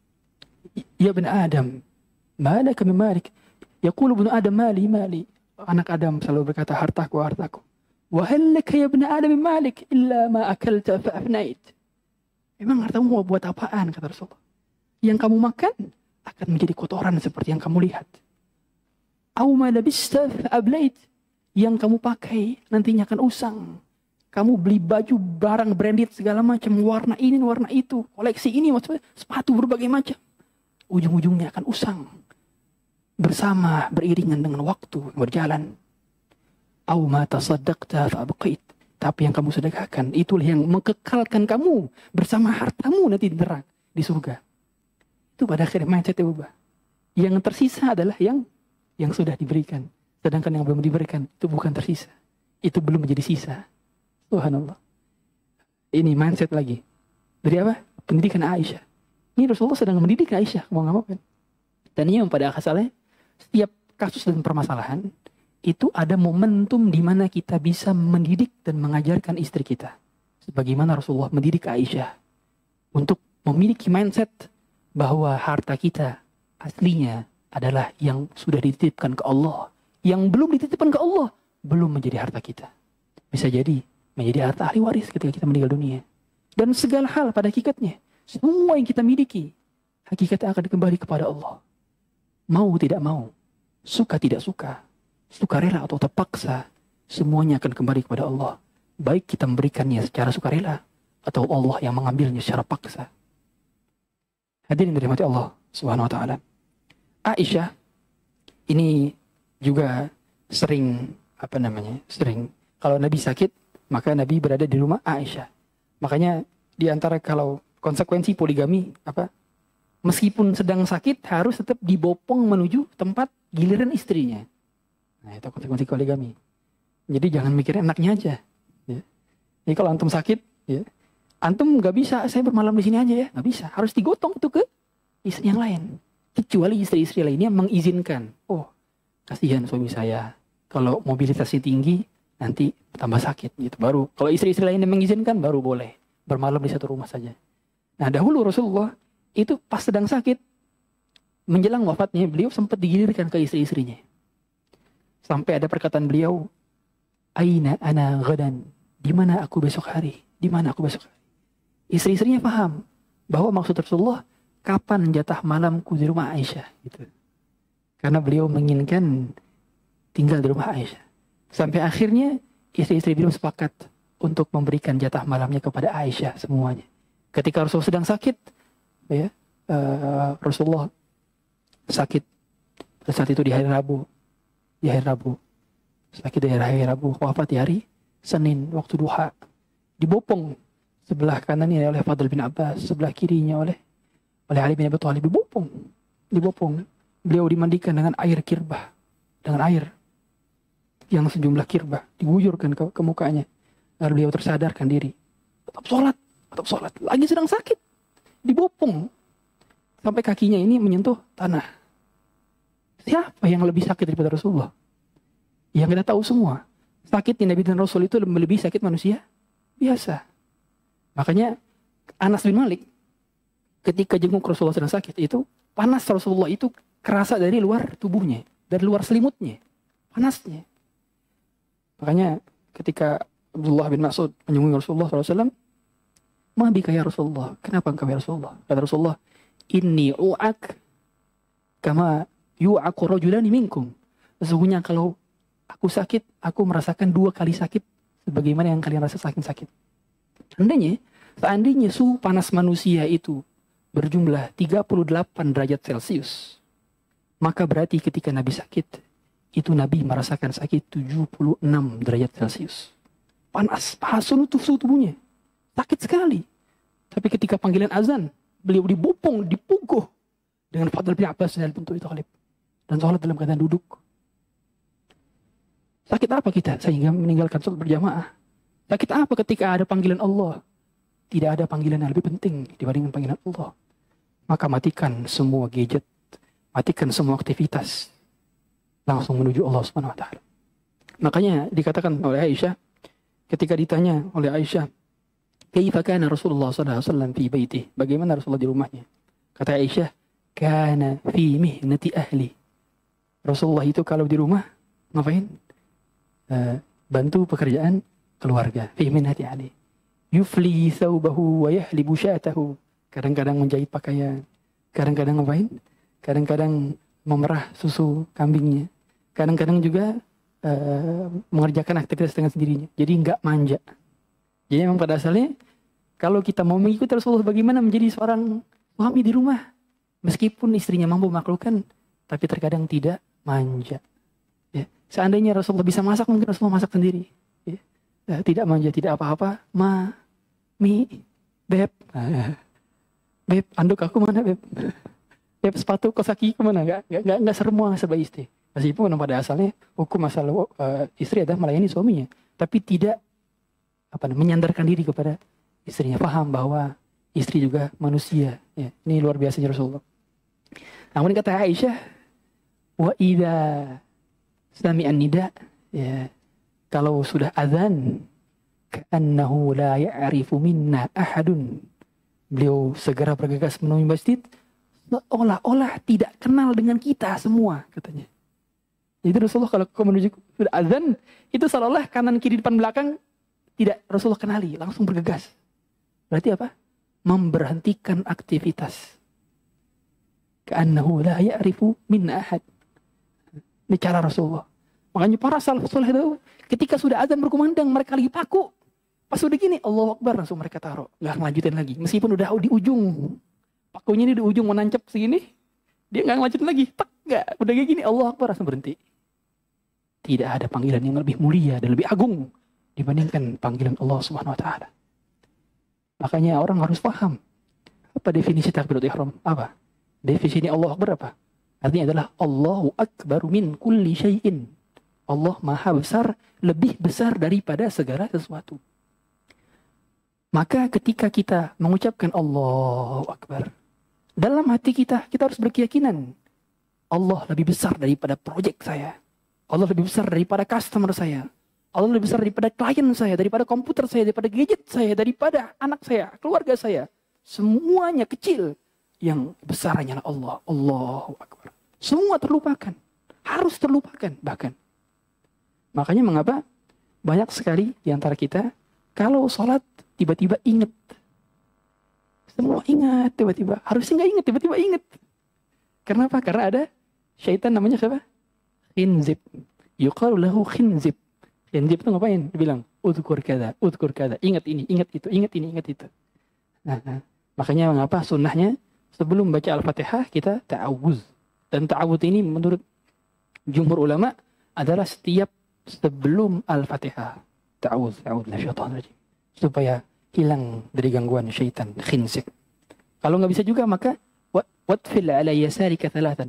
ya ibn Adam, malaka min malik. Yaqulu ibn Adam mali mali. Anak Adam selalu berkata hartaku hartaku. Wa hal laka ya ibn Adam min malik illa ma akalta fa afnait. Memang hartamu mau buat apaan, kata Rasulullah? Yang kamu makan akan menjadi kotoran seperti yang kamu lihat. Aw ma labista fa ablait. Yang kamu pakai nantinya akan usang. Kamu beli baju, barang branded segala macam, warna ini, warna itu, koleksi ini, sepatu berbagai macam. Ujung-ujungnya akan usang. Bersama, beriringan dengan waktu berjalan. Aw ma tasaddaqta fa abqait. Tapi yang kamu sedekahkan, itulah yang mengekalkan kamu bersama hartamu nanti di neraka, di surga. Itu pada akhirnya mindsetnya berubah. Yang tersisa adalah yang sudah diberikan. Sedangkan yang belum diberikan, itu bukan tersisa. Itu belum menjadi sisa. Subhanallah. Ini mindset lagi. Dari apa? Pendidikan Aisyah. Ini Rasulullah sedang mendidik Aisyah. Mau nggak mau kan? Dan ini yang pada asalnya, setiap kasus dan permasalahan, itu ada momentum di mana kita bisa mendidik dan mengajarkan istri kita. Sebagaimana Rasulullah mendidik Aisyah. Untuk memiliki mindset bahwa harta kita aslinya adalah yang sudah dititipkan ke Allah. Yang belum dititipkan ke Allah, belum menjadi harta kita. Bisa jadi menjadi harta ahli waris ketika kita meninggal dunia. Dan segala hal pada hakikatnya, semua yang kita miliki, hakikatnya akan kembali kepada Allah. Mau tidak mau, suka tidak suka, sukarela atau terpaksa, semuanya akan kembali kepada Allah. Baik kita memberikannya secara sukarela, atau Allah yang mengambilnya secara paksa. Hadirin dirahmati Allah Subhanahu wa taala. Aisyah ini juga sering kalau Nabi sakit, maka Nabi berada di rumah Aisyah. Makanya di antara kalau konsekuensi poligami meskipun sedang sakit harus tetap dibopong menuju tempat giliran istrinya. Nah, itu konsekuensi poligami. Jadi jangan mikirin anaknya aja. Ya. Jadi kalau antum sakit, ya, antum nggak bisa saya bermalam di sini aja ya, nggak bisa. Harus digotong itu ke istri yang lain. Kecuali istri-istri lainnya mengizinkan. Oh, kasihan suami saya. Kalau mobilitasnya tinggi, nanti tambah sakit gitu. Baru kalau istri-istri lain yang mengizinkan baru boleh bermalam di satu rumah saja. Nah, dahulu Rasulullah itu pas sedang sakit menjelang wafatnya beliau sempat digilirkan ke istri-istrinya. Sampai ada perkataan beliau, "Aina ana ghadan?" Di mana aku besok hari? Di mana aku besok hari? Istri-istrinya paham bahwa maksud Rasulullah kapan jatah malamku di rumah Aisyah gitu. Karena beliau menginginkan tinggal di rumah Aisyah. Sampai akhirnya istri-istri beliau sepakat untuk memberikan jatah malamnya kepada Aisyah semuanya. Ketika Rasulullah sedang sakit, ya, Rasulullah sakit pada saat itu di hari Rabu. Sakit di hari Rabu, wafat di hari Senin waktu duha. Dibopong sebelah kanannya oleh Fadl bin Abbas, sebelah kirinya oleh Ali bin Abi Thalib. Dibopong. Beliau dimandikan dengan air kirbah, dengan air yang sejumlah kirbah diguyurkan ke mukanya. Lalu beliau tersadarkan diri. Tetap sholat. Lagi sedang sakit. Dibopong. Sampai kakinya ini menyentuh tanah. Siapa yang lebih sakit daripada Rasulullah? Yang kita tahu semua. Sakitnya Nabi dan Rasul itu lebih sakit manusia biasa. Makanya Anas bin Malik ketika jenguk Rasulullah sedang sakit itu, panas Rasulullah itu kerasa dari luar tubuhnya. Dari luar selimutnya. Panasnya. Makanya ketika Abdullah bin Mas'ud menjenguk Rasulullah SAW, Ma bika ya Rasulullah. Kenapa engkau ya Rasulullah? Kata Rasulullah, inni u'ak kama yu'aku rajulani minkum. Sesungguhnya kalau aku sakit, aku merasakan 2 kali sakit sebagaimana yang kalian rasa sakit. Seandainya suhu panas manusia itu berjumlah 38 derajat Celcius, maka berarti ketika Nabi sakit, itu Nabi merasakan sakit 76 derajat Celcius. Panas suhu tubuhnya. Sakit sekali. Tapi ketika panggilan azan, beliau dibopong, dipukul dengan Fadl bin Abbas dan bentuk itu Khalid. Dan sholat dalam keadaan duduk. Sakit apa kita sehingga meninggalkan sholat berjamaah? Sakit apa ketika ada panggilan Allah? Tidak ada panggilan yang lebih penting dibandingkan panggilan Allah. Maka matikan semua gadget, matikan semua aktivitas, langsung menuju Allah Subhanahu wa taala. Makanya dikatakan oleh Aisyah, ketika ditanya oleh Aisyah, "Kaifa kana Rasulullah sallallahu alaihi wasallam fi baitih?" Bagaimana Rasulullah di rumahnya? Kata Aisyah, "Kana fi mihnati ahli." Rasulullah itu kalau di rumah ngapain? Bantu pekerjaan keluarga. Fi mihnati ahli. Yufli thawbahu wa yahlibu syatahu. Kadang-kadang menjahit pakaian. Kadang-kadang ngapain? Kadang-kadang memerah susu kambingnya. Kadang-kadang juga mengerjakan aktivitas dengan sendirinya. Jadi enggak manja. Jadi memang pada asalnya kalau kita mau mengikuti Rasulullah bagaimana menjadi seorang suami di rumah, meskipun istrinya mampu memaklukkan, tapi terkadang tidak manja. Ya. Seandainya Rasulullah bisa masak, mungkin Rasulullah masak sendiri. Ya. Tidak manja, tidak apa-apa. Beb, beb, anduk aku mana beb? Beb, sepatu kos kaki kemana? Enggak semua serba istri. Meskipun pada asalnya hukum masalah istri adalah melayani suaminya, tapi tidak menyandarkan diri kepada istrinya, paham bahwa istri juga manusia. Ya, ini luar biasanya Rasulullah. Namun kata Aisyah, wa idza sami'an nida, ya, kalau sudah azan, ka'annahu la ya'rifu minna ahadun. Beliau segera bergegas menemui masjid, seolah-olah tidak kenal dengan kita semua, katanya. Jadi Rasulullah kalau menuju sudah azan, itu seolah-olah kanan kiri depan belakang tidak Rasulullah kenali, langsung bergegas. Berarti apa? Memberhentikan aktivitas. Ka'annahu la ya'rifu minna ahad. Ini cara Rasulullah. Makanya para salaf saleh itu ketika sudah azan berkumandang, mereka lagi paku. Pas udah gini, Allahu Akbar, langsung mereka taruh. Nggak ngelanjutin lagi. Meskipun udah di ujung. Pakunya ini di ujung mau nancap segini, dia nggak ngelanjutin lagi. Tak, nggak. Udah kayak gini, Allahu Akbar, langsung berhenti. Tidak ada panggilan yang lebih mulia dan lebih agung dibandingkan panggilan Allah Subhanahu wa taala. Makanya orang harus paham apa definisi takbiratul ihram? Apa? Definisi Allahu Akbar apa? Artinya adalah Allahu Akbar min kulli syai'in. Allah Maha besar, lebih besar daripada segala sesuatu. Maka ketika kita mengucapkan Allahu Akbar, dalam hati kita harus berkeyakinan Allah lebih besar daripada proyek saya. Allah lebih besar daripada customer saya. Allah lebih besar daripada klien saya, daripada komputer saya, daripada gadget saya, daripada anak saya, keluarga saya. Semuanya kecil. Yang besar hanyalah Allah. Allahu Akbar. Semua terlupakan. Harus terlupakan bahkan. Makanya mengapa banyak sekali di antara kita, kalau sholat tiba-tiba ingat. Semua ingat tiba-tiba. Harusnya nggak ingat, tiba-tiba ingat. Kenapa? Karena ada syaitan namanya siapa? Khinzib. Yuqalu lahu khinzib. Khinzib itu ngapain? Dia bilang, udhkur kada. Ingat ini, ingat itu, ingat ini, ingat itu. Nah. Makanya mengapa sunnahnya sebelum baca Al-Fatihah kita ta'awuz. Dan ta'awuz ini menurut jumhur ulama adalah setiap sebelum Al-Fatihah. Ta'awuz nasyaitanir rajim. Supaya hilang dari gangguan syaitan, khinzib. Kalau nggak bisa juga maka watfil ala yasarika thalathan.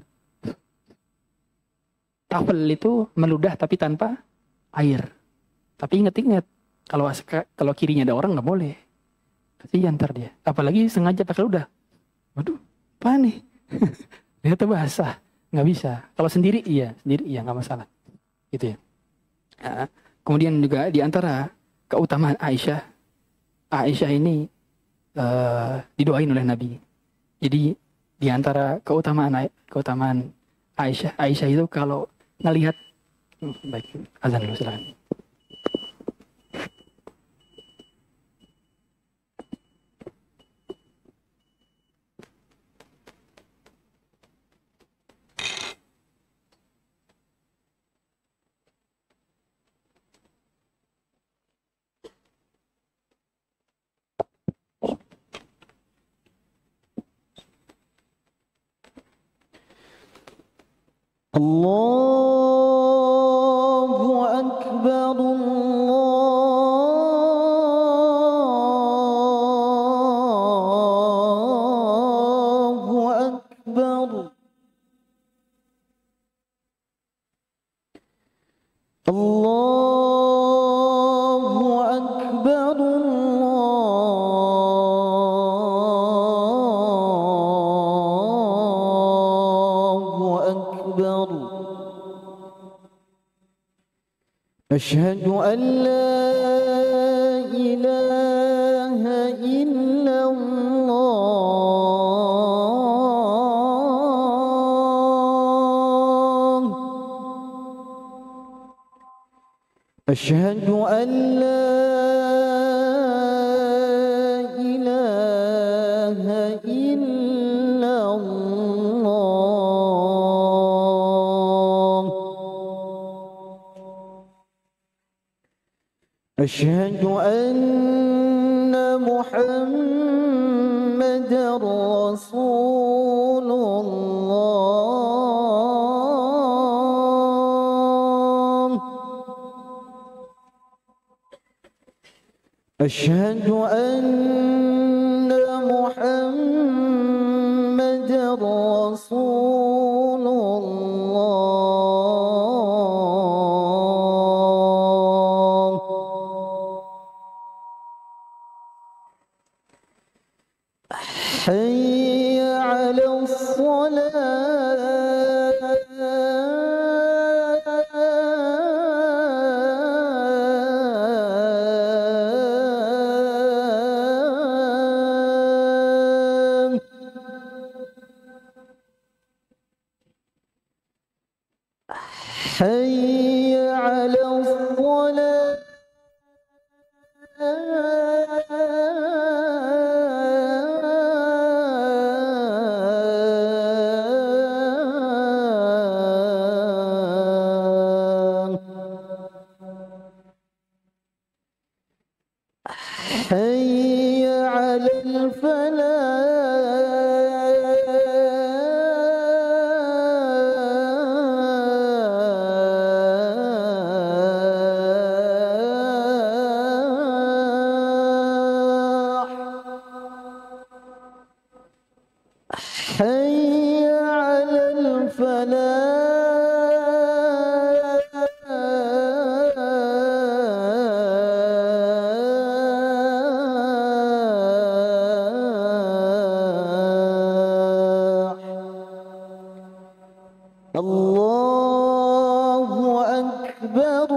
Tafel itu meludah tapi tanpa air. Tapi ingat-ingat, kalau kirinya ada orang nggak boleh. Kasihan ntar dia. Apalagi sengaja pakai ludah. Waduh, apa nih? Dia basah, nggak bisa. Kalau sendiri iya nggak masalah. Gitu ya. Nah, kemudian juga di antara keutamaan Aisyah ini didoain oleh Nabi. Jadi di antara keutamaan Aisyah itu kalau ngelihat baik, azan dulu silakan. الله أكبر الله أكبر الله أكبر الله أكبر أشهد أن لا إله إلا الله أشهد أن لا إله إلا الله أشهد أن محمدًا رسول الله أشهد أن محمدًا رسول الله حي على الصلاة حي على حي على الفلاح حي على الفلاح الله أكبر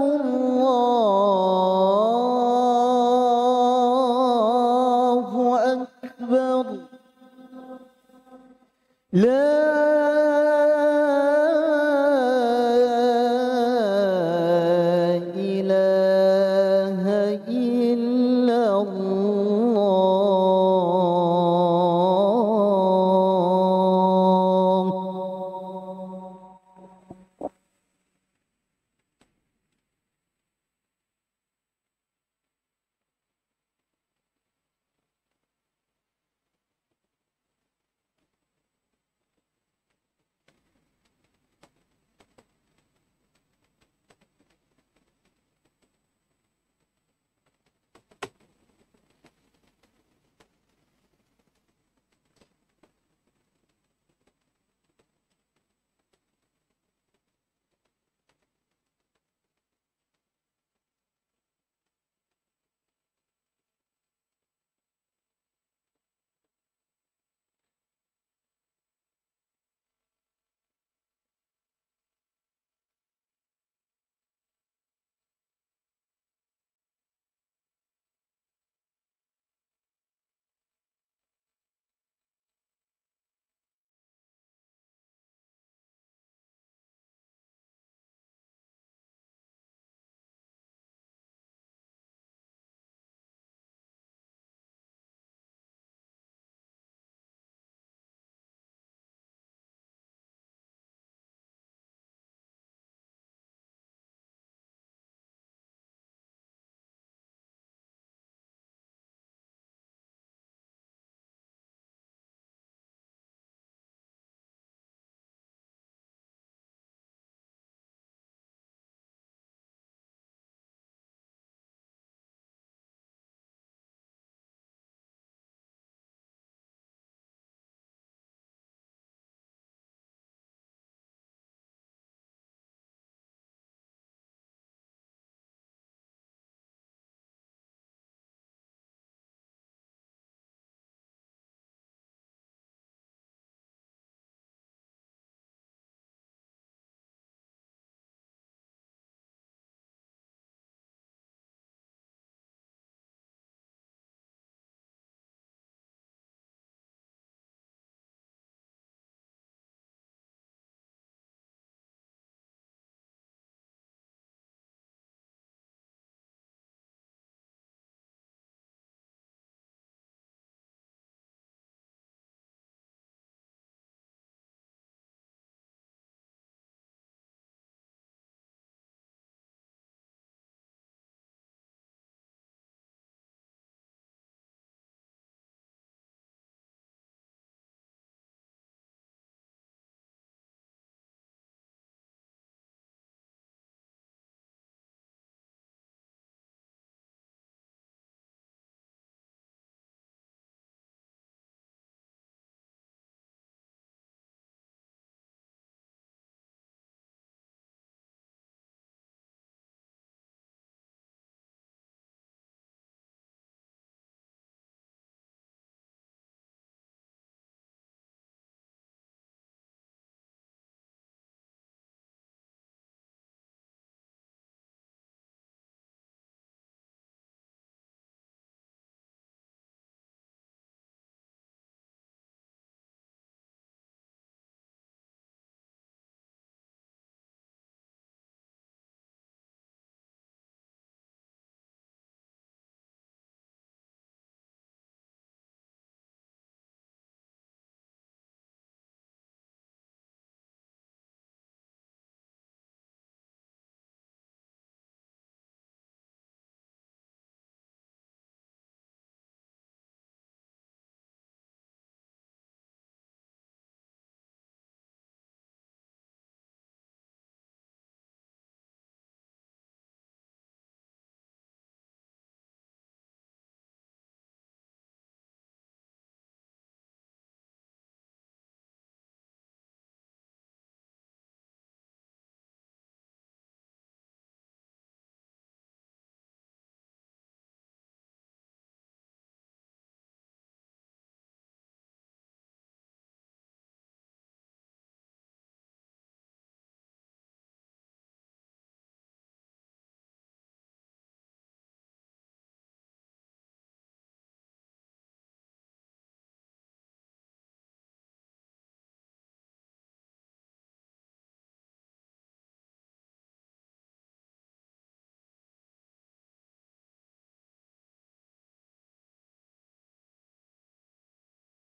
الله أكبر لا إله إلا الله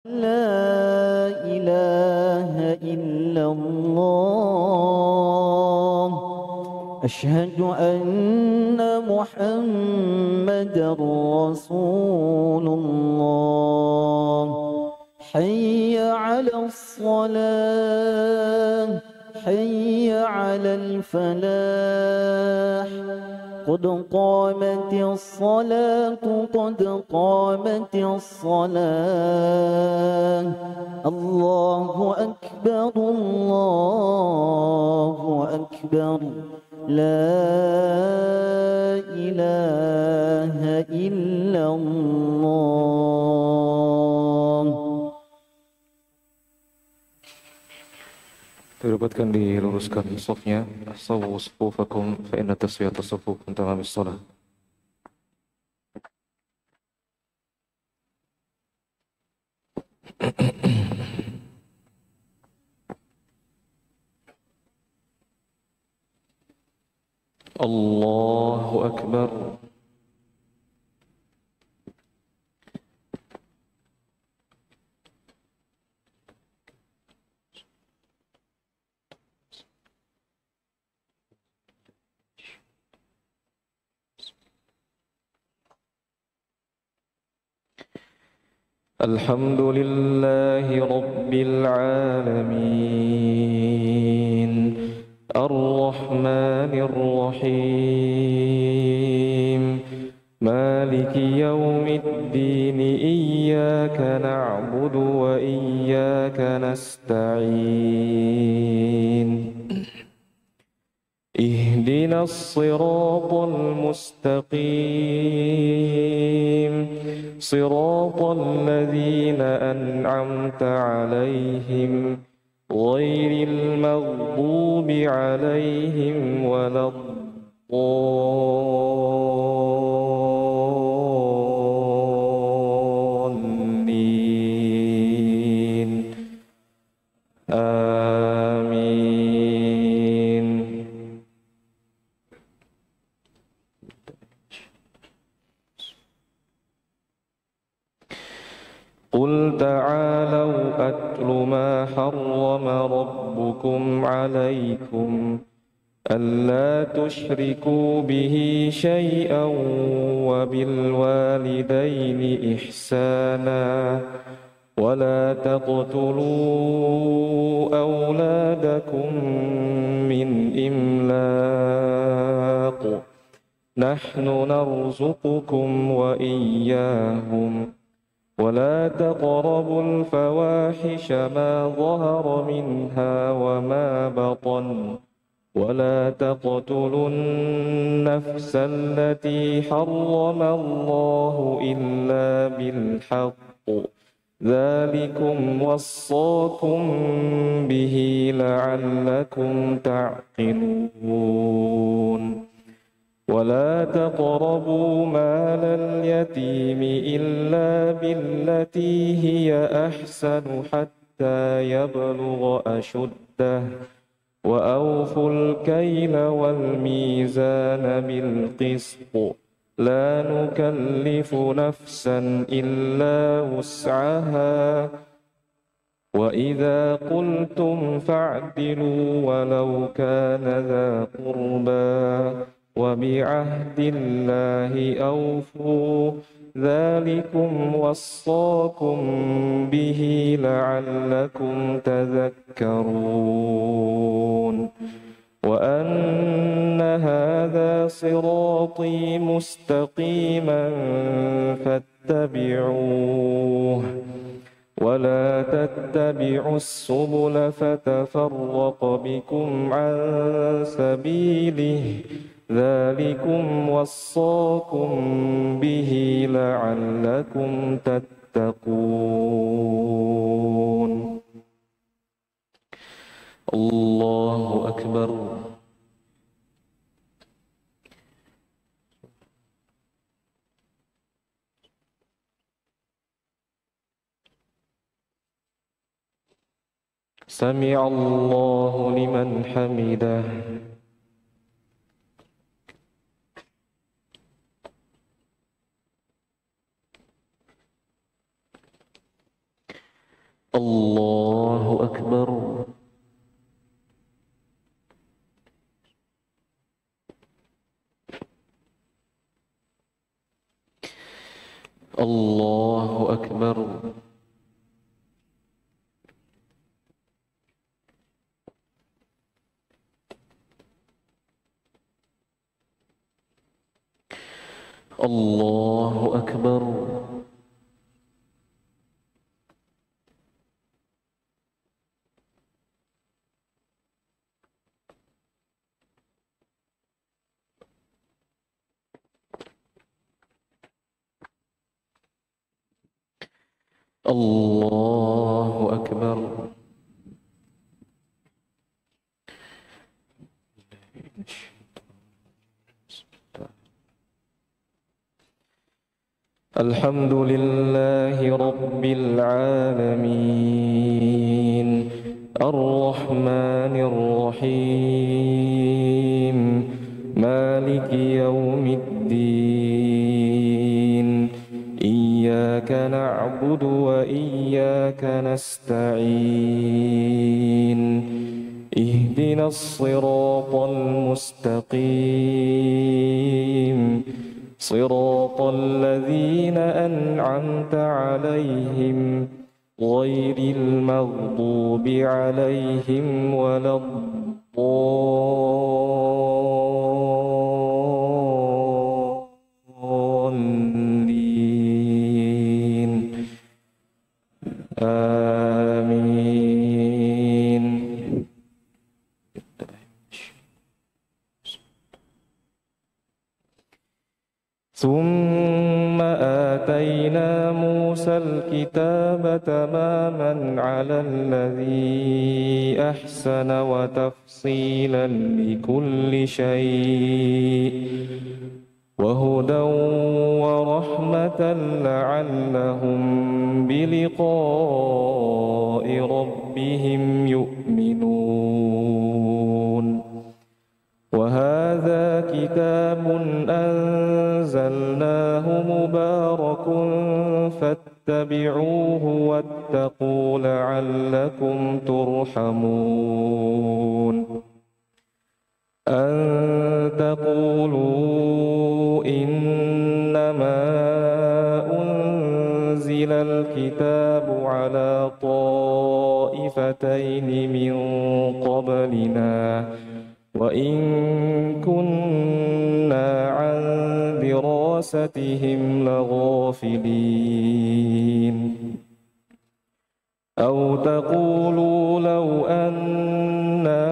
لا إله إلا الله أشهد أن محمدا رسول الله حي على الصلاة حي على الفلاح قد قامت الصلاة قد قامت الصلاة الله أكبر الله أكبر لا إله إلا الله. Diribatkan diluruskan shafnya. Sawu sufufakum fa inna taswiyata sufuf min tamamis shalah. Allahu akbar. الحمد لله رب العالمين الرحمن الرحيم مالك يوم الدين إياك نعبد وإياك نستعين اهدنا الصراط المستقيم صراط الذين أنعمت عليهم غير المغضوب عليهم ولا الضالين آمين. قل تعالوا أتل ما حرم ربكم عليكم ألا تشركوا به شيئا وبالوالدين إحسانا ولا تقتلوا أولادكم من إملاق نحن نرزقكم وإياهم ولا تقربوا الفواحش ما ظهر منها وما بطن ولا تقتلوا النفس التي حرم الله إلا بالحق ذلكم وصاكم به لعلكم تعقلون ولا تقربوا مال اليتيم إلا بالتي هي أحسن حتى يبلغ أشده وأوفوا الكيل والميزان بالقسط لا نكلف نفسا إلا وسعها وإذا قلتم فاعدلوا ولو كان ذا قربى وبعهد الله أوفوا ذلكم وصاكم به لعلكم تذكرون وأن هذا صراطي مستقيما فاتبعوه ولا تتبعوا السبل فتفرق بكم عن سبيله ذلكم وصاكم به لعلكم تتقون. الله أكبر. سمع الله لمن حمده. الله أكبر. الله أكبر. الله أكبر. الحمد لله رب العالمين الرحمن الرحيم مالك يوم الدين إياك نعبد وإياك نستعين اهدنا الصراط المستقيم صراط الذين أنعمت عليهم غير المغضوب عليهم ولا الضالين آمين. ثم آتينا موسى الكتاب تماما على الذي أحسن وتفصيلا لكل شيء وهدى ورحمة لعلهم بلقاء ربهم يؤمنون. وهذا كتاب أنزلناه مبارك فاتبعوه واتقوا لعلكم ترحمون. أن تقولوا إنما أنزل الكتاب على طائفتين من قبلنا وإن كنا عن دراستهم لغافلين. أو تقولوا لو أنا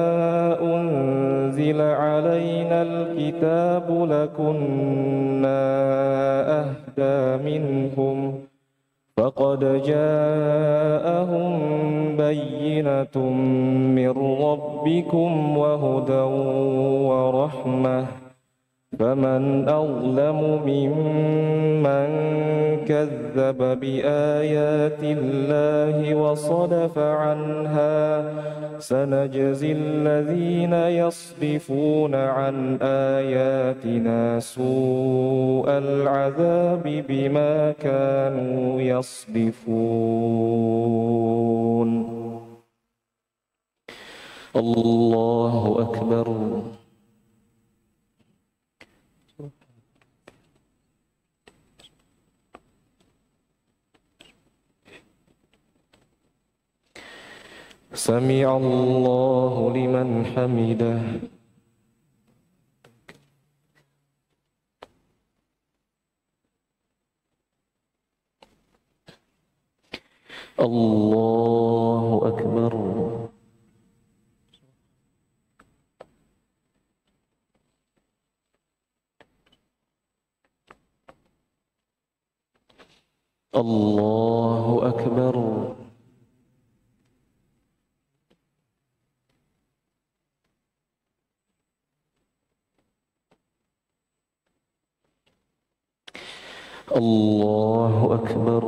أنزل علينا الكتاب لكنا أهدى منهم فقد جاءهم بينة من ربكم وهدى ورحمة فمن أظلم ممن كذب بآيات الله وصدف عنها سنجزي الذين يصدفون عن آياتنا سوء العذاب بما كانوا يصدفون. الله أكبر. سمع الله لمن حمده. الله أكبر. الله أكبر. الله أكبر.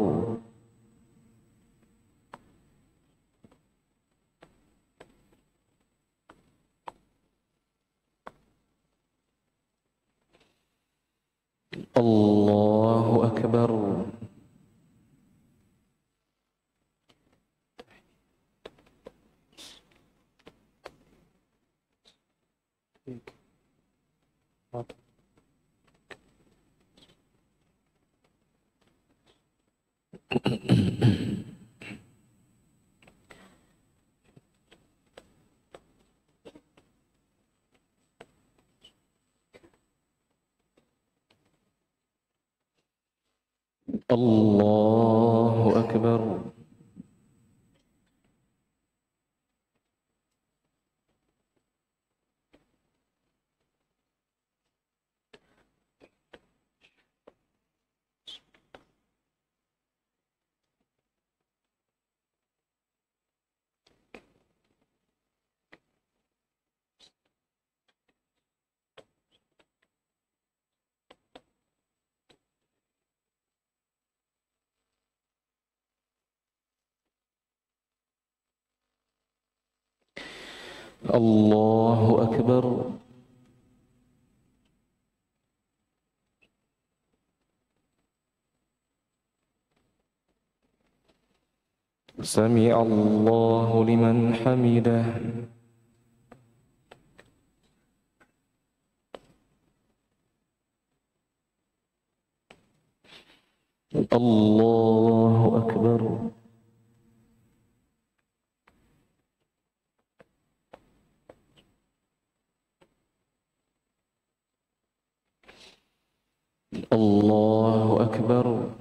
الله أكبر. الله أكبر. الله أكبر. سمع الله لمن حمده. الله أكبر. الله أكبر.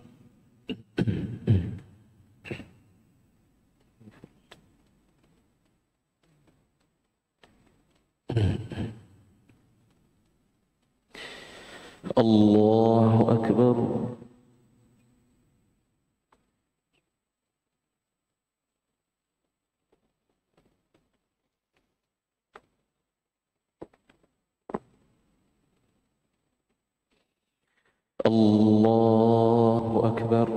الله أكبر. الله أكبر.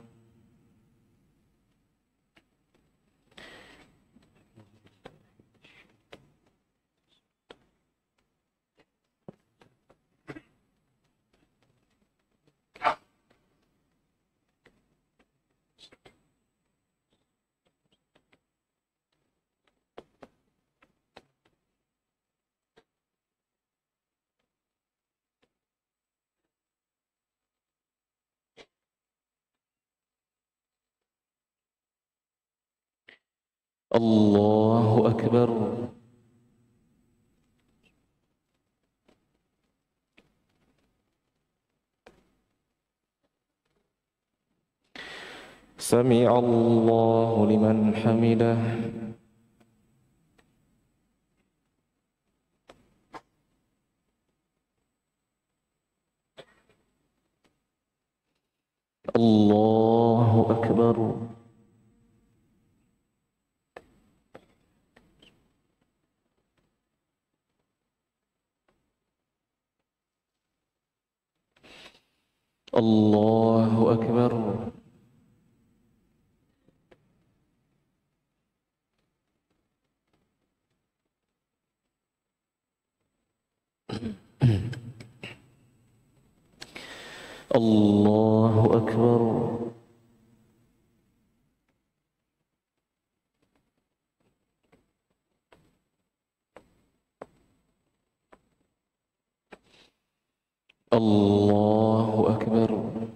الله أكبر. سمع الله لمن حمده. الله أكبر. الله أكبر. الله أكبر. الله أكبر.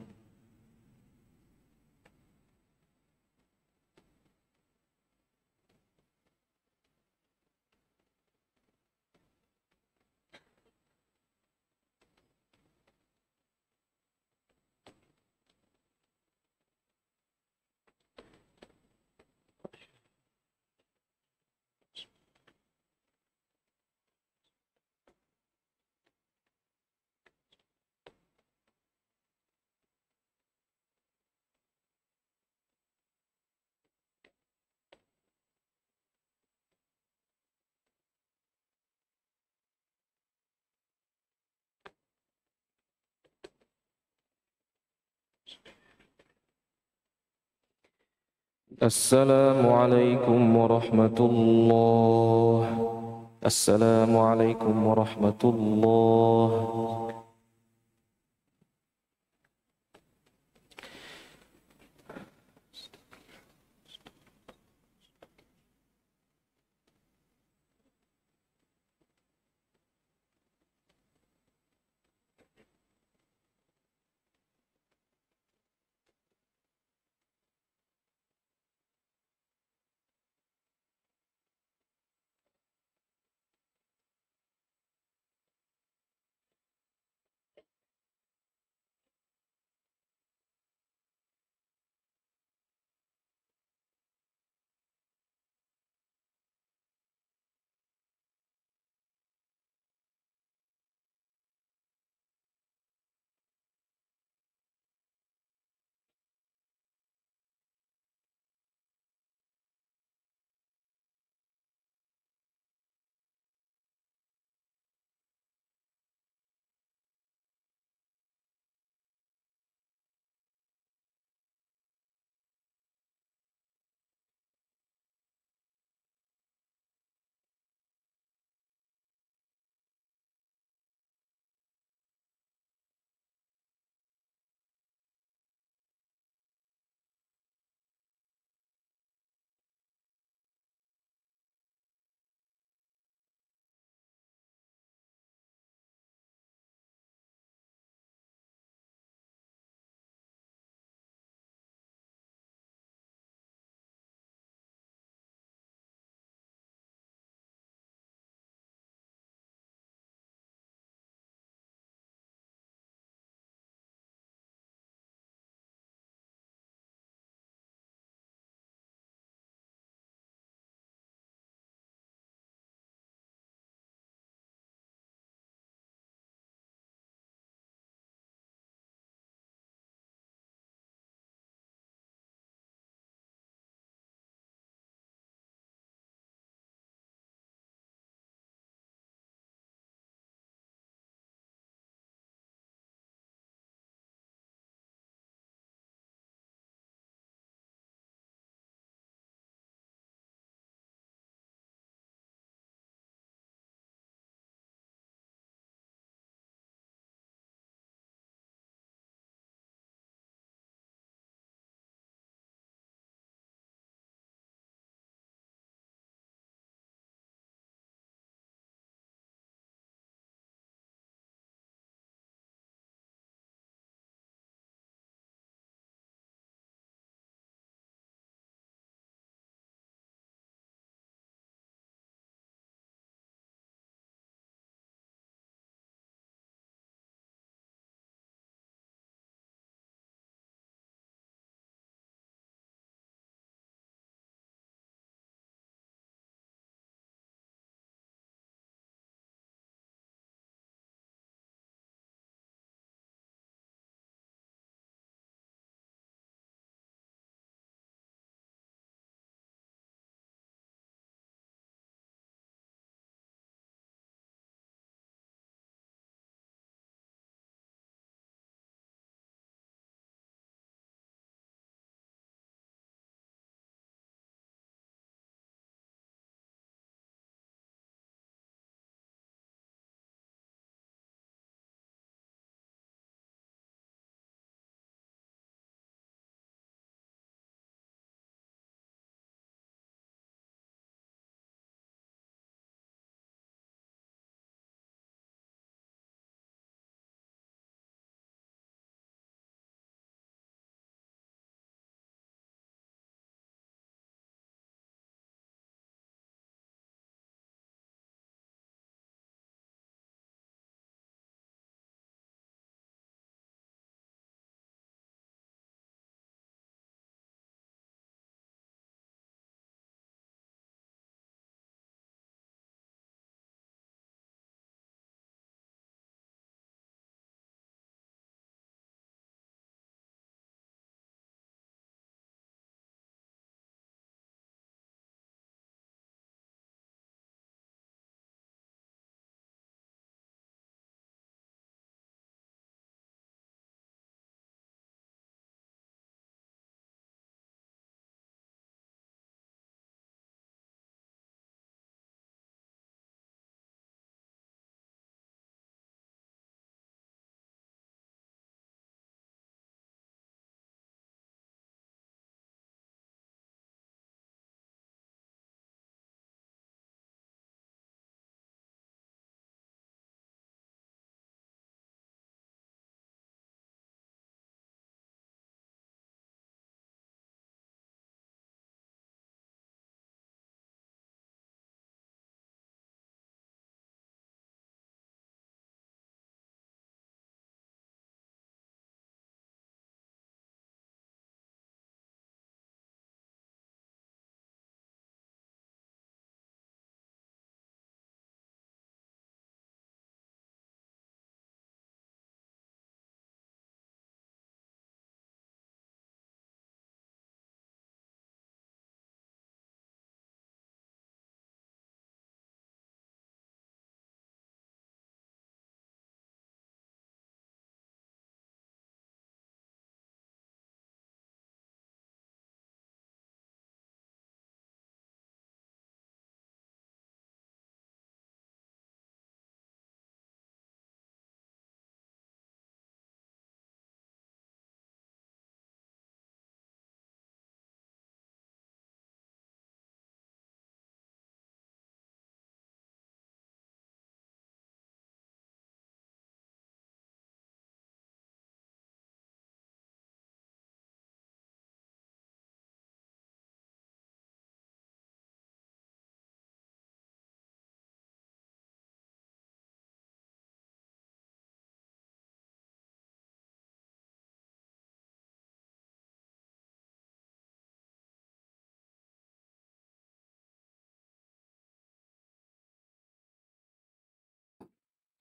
السلام عليكم ورحمة الله. السلام عليكم ورحمة الله.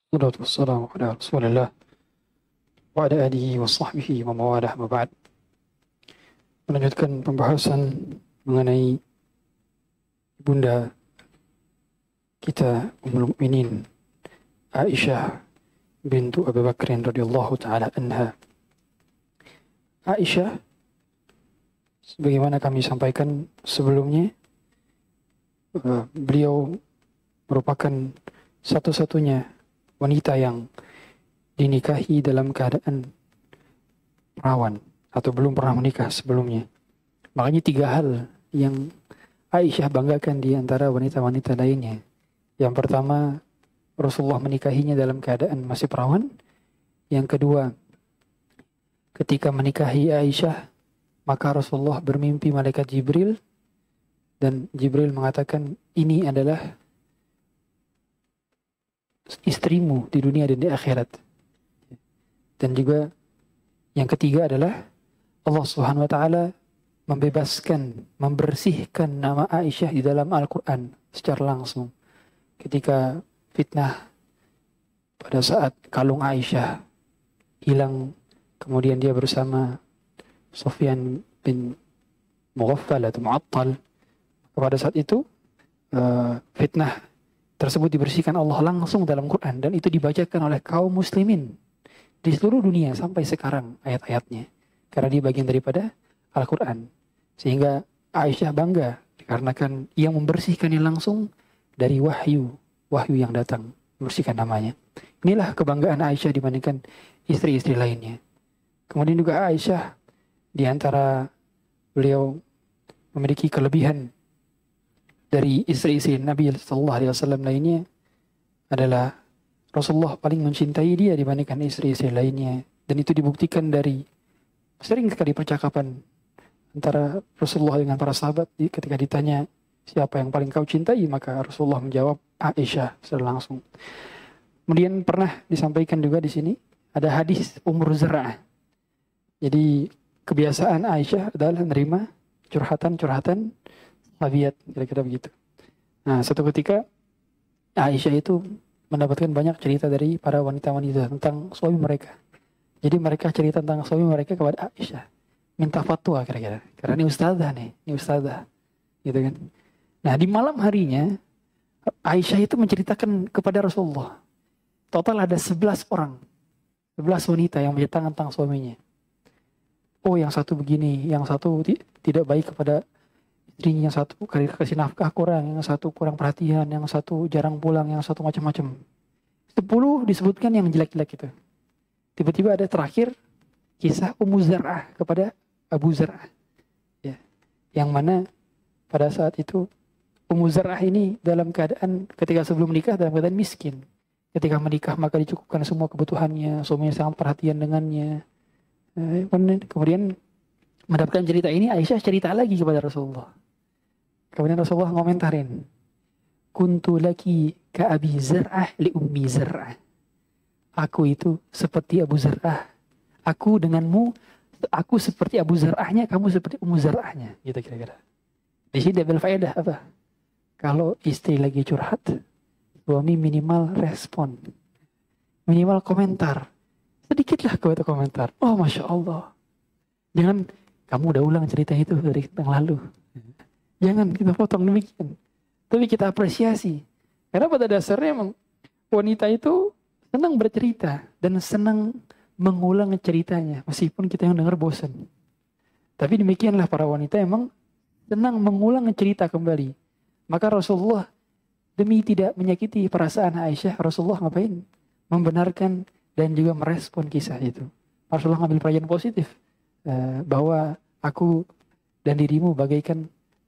Salatu wassalamu ala Rasulillah wa ala alihi wa sahbihi wa mawalah ma ba'd. Melanjutkan pembahasan mengenai Bunda kita Ummul Mukminin Aisyah bintu Abu Bakrin radhiyallahu taala anha. Aisyah, sebagaimana kami sampaikan sebelumnya, beliau merupakan satu-satunya wanita yang dinikahi dalam keadaan perawan atau belum pernah menikah sebelumnya. Makanya 3 hal yang Aisyah banggakan di antara wanita-wanita lainnya. Yang pertama, Rasulullah menikahinya dalam keadaan masih perawan. Yang kedua, ketika menikahi Aisyah, maka Rasulullah bermimpi malaikat Jibril, dan Jibril mengatakan, ini adalah istrimu di dunia dan di akhirat. Dan juga yang ketiga adalah Allah Subhanahu wa taala membebaskan, membersihkan nama Aisyah di dalam Al-Quran secara langsung. Ketika fitnah pada saat kalung Aisyah hilang, kemudian dia bersama Sufyan bin Mughaffal atau Mu'attal, pada saat itu fitnah tersebut dibersihkan Allah langsung dalam Quran, dan itu dibacakan oleh kaum muslimin di seluruh dunia sampai sekarang ayat-ayatnya, karena dia bagian daripada Al-Quran. Sehingga Aisyah bangga dikarenakan yang membersihkannya langsung dari wahyu yang datang, membersihkan namanya. Inilah kebanggaan Aisyah dibandingkan istri-istri lainnya. Kemudian juga Aisyah, di antara beliau memiliki kelebihan dari istri-istri Nabi Sallallahu Alaihi Wasallam lainnya adalah Rasulullah paling mencintai dia dibandingkan istri-istri lainnya, dan itu dibuktikan dari sering sekali percakapan antara Rasulullah dengan para sahabat. Ketika ditanya siapa yang paling kau cintai, maka Rasulullah menjawab Aisyah secara langsung. Kemudian pernah disampaikan juga di sini ada hadis Zar'ah. Jadi kebiasaan Aisyah adalah menerima curhatan sahabiat, kira-kira begitu. Nah, suatu ketika Aisyah itu mendapatkan banyak cerita dari para wanita-wanita tentang suami mereka. Jadi mereka cerita tentang suami mereka kepada Aisyah, minta fatwa kira-kira. Karena ini ustazah, gitu kan. Nah, di malam harinya Aisyah itu menceritakan kepada Rasulullah. Total ada 11 orang, 11 wanita yang menceritakan tentang suaminya. Oh, yang satu begini, yang satu tidak baik kepada istrinya, yang satu kasih nafkah kurang, yang satu kurang perhatian, yang satu jarang pulang, yang satu macam-macam. 10 disebutkan yang jelek-jelek itu. Tiba-tiba ada terakhir kisah Ummu Zar'ah kepada Abu Zar'ah. Ya. Yang mana pada saat itu Ummu Zar'ah ini dalam keadaan ketika sebelum menikah dalam keadaan miskin. Ketika menikah maka dicukupkan semua kebutuhannya, suaminya sangat perhatian dengannya. Kemudian mendapatkan cerita ini, Aisyah cerita lagi kepada Rasulullah. Kemudian Rasulullah ngomentarin, kuntu laki ka Abi Zar'ah li Ummi Zar'ah. Aku itu seperti Abu Zar'ah. Aku denganmu, aku seperti Abu Zar'ahnya, kamu seperti Ummu Zar'ahnya. Gitu kira-kira. Di sini ambil faedah apa? Kalau istri lagi curhat, suami minimal respon. Minimal komentar. Sedikitlah kau itu komentar. Oh, Masya Allah. Jangan, kamu udah ulang cerita itu dari yang lalu. Jangan kita potong demikian. Tapi kita apresiasi. Karena pada dasarnya emang wanita itu senang bercerita dan senang mengulang ceritanya. Meskipun kita yang dengar bosan. Tapi demikianlah para wanita emang senang mengulang cerita kembali. Maka Rasulullah demi tidak menyakiti perasaan Aisyah, Rasulullah ngapain? Membenarkan dan juga merespon kisah itu. Rasulullah ngambil pelajaran positif. Bahwa aku dan dirimu bagaikan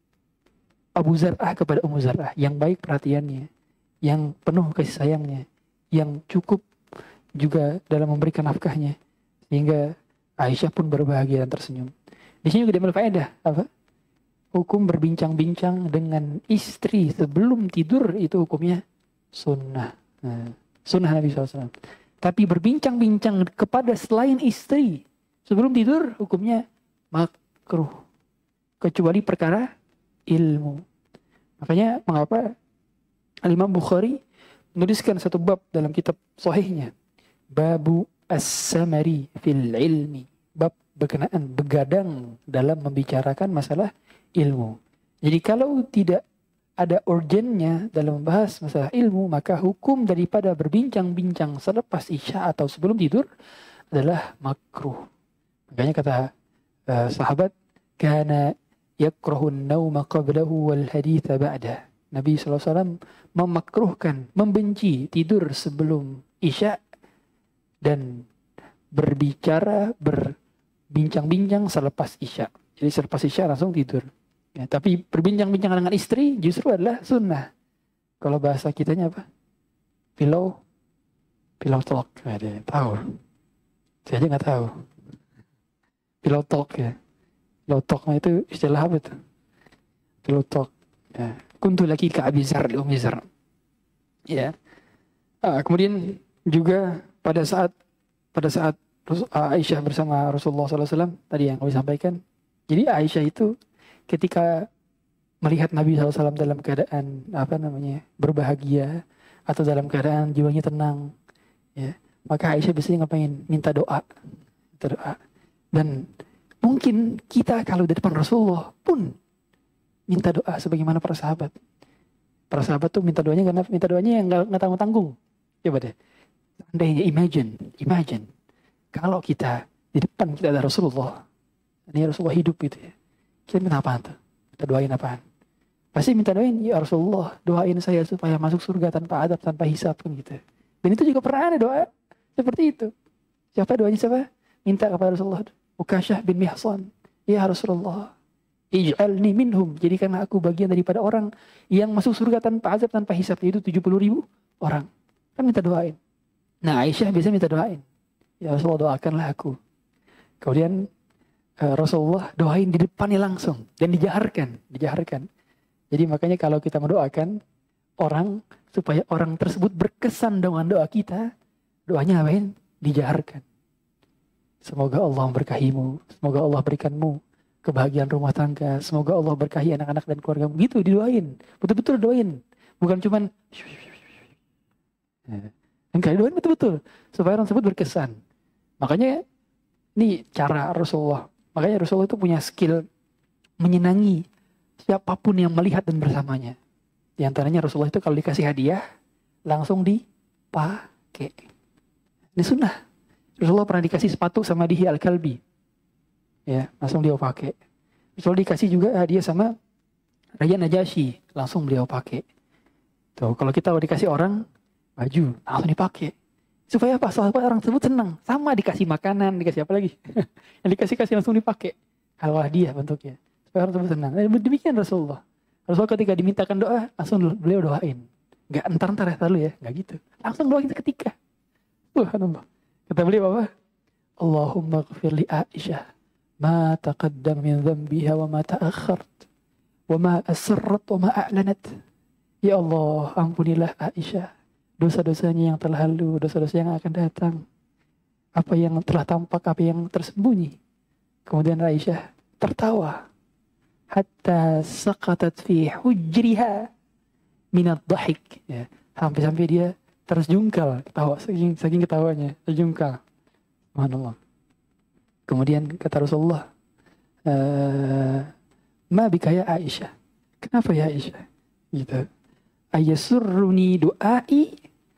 Abu Zar'ah kepada Ummu Zar'ah, yang baik perhatiannya, yang penuh kasih sayangnya, yang cukup juga dalam memberikan nafkahnya, sehingga Aisyah pun berbahagia dan tersenyum. Di sini juga diambil faedah apa? Hukum berbincang-bincang dengan istri sebelum tidur itu hukumnya sunnah. Sunnah Nabi SAW. Tapi berbincang-bincang kepada selain istri sebelum tidur hukumnya makruh. Kecuali perkara ilmu. Makanya mengapa Al-Imam Bukhari menuliskan satu bab dalam kitab sahihnya. Babu as-samari fil ilmi. Bab berkenaan begadang dalam membicarakan masalah ilmu. Jadi kalau tidak ada urgennya dalam membahas masalah ilmu, maka hukum daripada berbincang-bincang selepas isya atau sebelum tidur adalah makruh. Makanya kata sahabat, kana yakrahun nauma qablahu wal haditha ba'dah. Nabi SAW memakruhkan, membenci tidur sebelum isya dan berbincang-bincang selepas isya. Jadi selepas isya langsung tidur. Ya, tapi berbincang-bincang dengan istri justru adalah sunnah. Kalau bahasa kitanya apa? Pillow talk. Ada yang tahu? Saya aja nggak tahu. Pillow talk ya. Pillow talk itu istilah apa itu? Pillow talk. Ya. Kuntu laki ka Abi Zar li Ummi Zar. Ya. Kemudian juga pada saat Aisyah bersama Rasulullah SAW tadi yang kami sampaikan. Jadi Aisyah itu ketika melihat Nabi SAW dalam keadaan berbahagia atau dalam keadaan jiwanya tenang, ya, maka Aisyah biasanya ngapain? Minta doa. Dan mungkin kita kalau di depan Rasulullah pun minta doa sebagaimana para sahabat. Para sahabat tuh minta doanya karena minta doanya yang nggak tanggung-tanggung. Coba deh, seandainya imagine kalau kita di depan kita ada Rasulullah, ini Rasulullah hidup gitu ya. Kita minta apaan tuh? Kita doain apaan? Pasti minta doain, ya Rasulullah doain saya supaya masuk surga tanpa adab, tanpa hisab kan gitu. Dan itu juga pernah ada doa seperti itu. Siapa doanya siapa? Minta kepada Rasulullah. Ukasyah bin Mihsan, ya Rasulullah, ij'alni minhum, jadikanlah aku bagian daripada orang yang masuk surga tanpa azab, tanpa hisab, yaitu 70.000 orang. Kan minta doain. Nah Aisyah biasa minta doain, ya Rasulullah doakanlah aku. Kemudian Rasulullah doain di depannya langsung dan dijaharkan. Jadi makanya kalau kita mendoakan orang supaya orang tersebut berkesan dengan doa kita, doanya apain? Dijaharkan. Semoga Allah memberkahimu, semoga Allah berikanmu kebahagiaan rumah tangga, semoga Allah berkahi anak-anak dan keluargamu. Gitu didoain, betul-betul doain, bukan cuman enggak, doain betul-betul supaya orang tersebut berkesan. Makanya ini cara Rasulullah. Makanya Rasulullah itu punya skill menyenangi siapapun yang melihat dan bersamanya. Di antaranya Rasulullah itu kalau dikasih hadiah langsung dipakai. Ini sunnah. Rasulullah pernah dikasih sepatu sama Dihya Al-Kalbi. Ya, langsung dia pakai. Rasulullah dikasih juga hadiah sama Raja Najasyi, langsung beliau pakai. Tuh, kalau kita dikasih orang baju, langsung dipakai. Supaya apa? Supaya orang tersebut senang. Sama dikasih makanan, dikasih apa lagi? Yang dikasih langsung dipakai. Kalau hadiah bentuknya. Supaya orang tersebut senang. Dan demikian Rasulullah. Rasulullah ketika dimintakan doa, langsung beliau doain. Gak entar ya lalu ya, gak gitu. Langsung doain seketika. Subhanallah. Kata beliau apa? Allahumma ghafir li Aisyah ma taqaddam min dhanbiha wa ma ta'akhkhart wa ma asarrat wa ma a'lanat. Ya Allah, ampunilah Aisyah dosa-dosanya yang telah lalu, dosa-dosa yang akan datang, apa yang telah tampak, apa yang tersembunyi. Kemudian Aisyah tertawa hatta saqatat fi hujriha minad dhahik, ya, sampai dia terjungkal ketawa, saking ketawanya terjungkal. Subhanallah. Kemudian kata Rasulullah, ma bika ya Aisyah, kenapa ya Aisyah gitu, ayasurruni du'ai,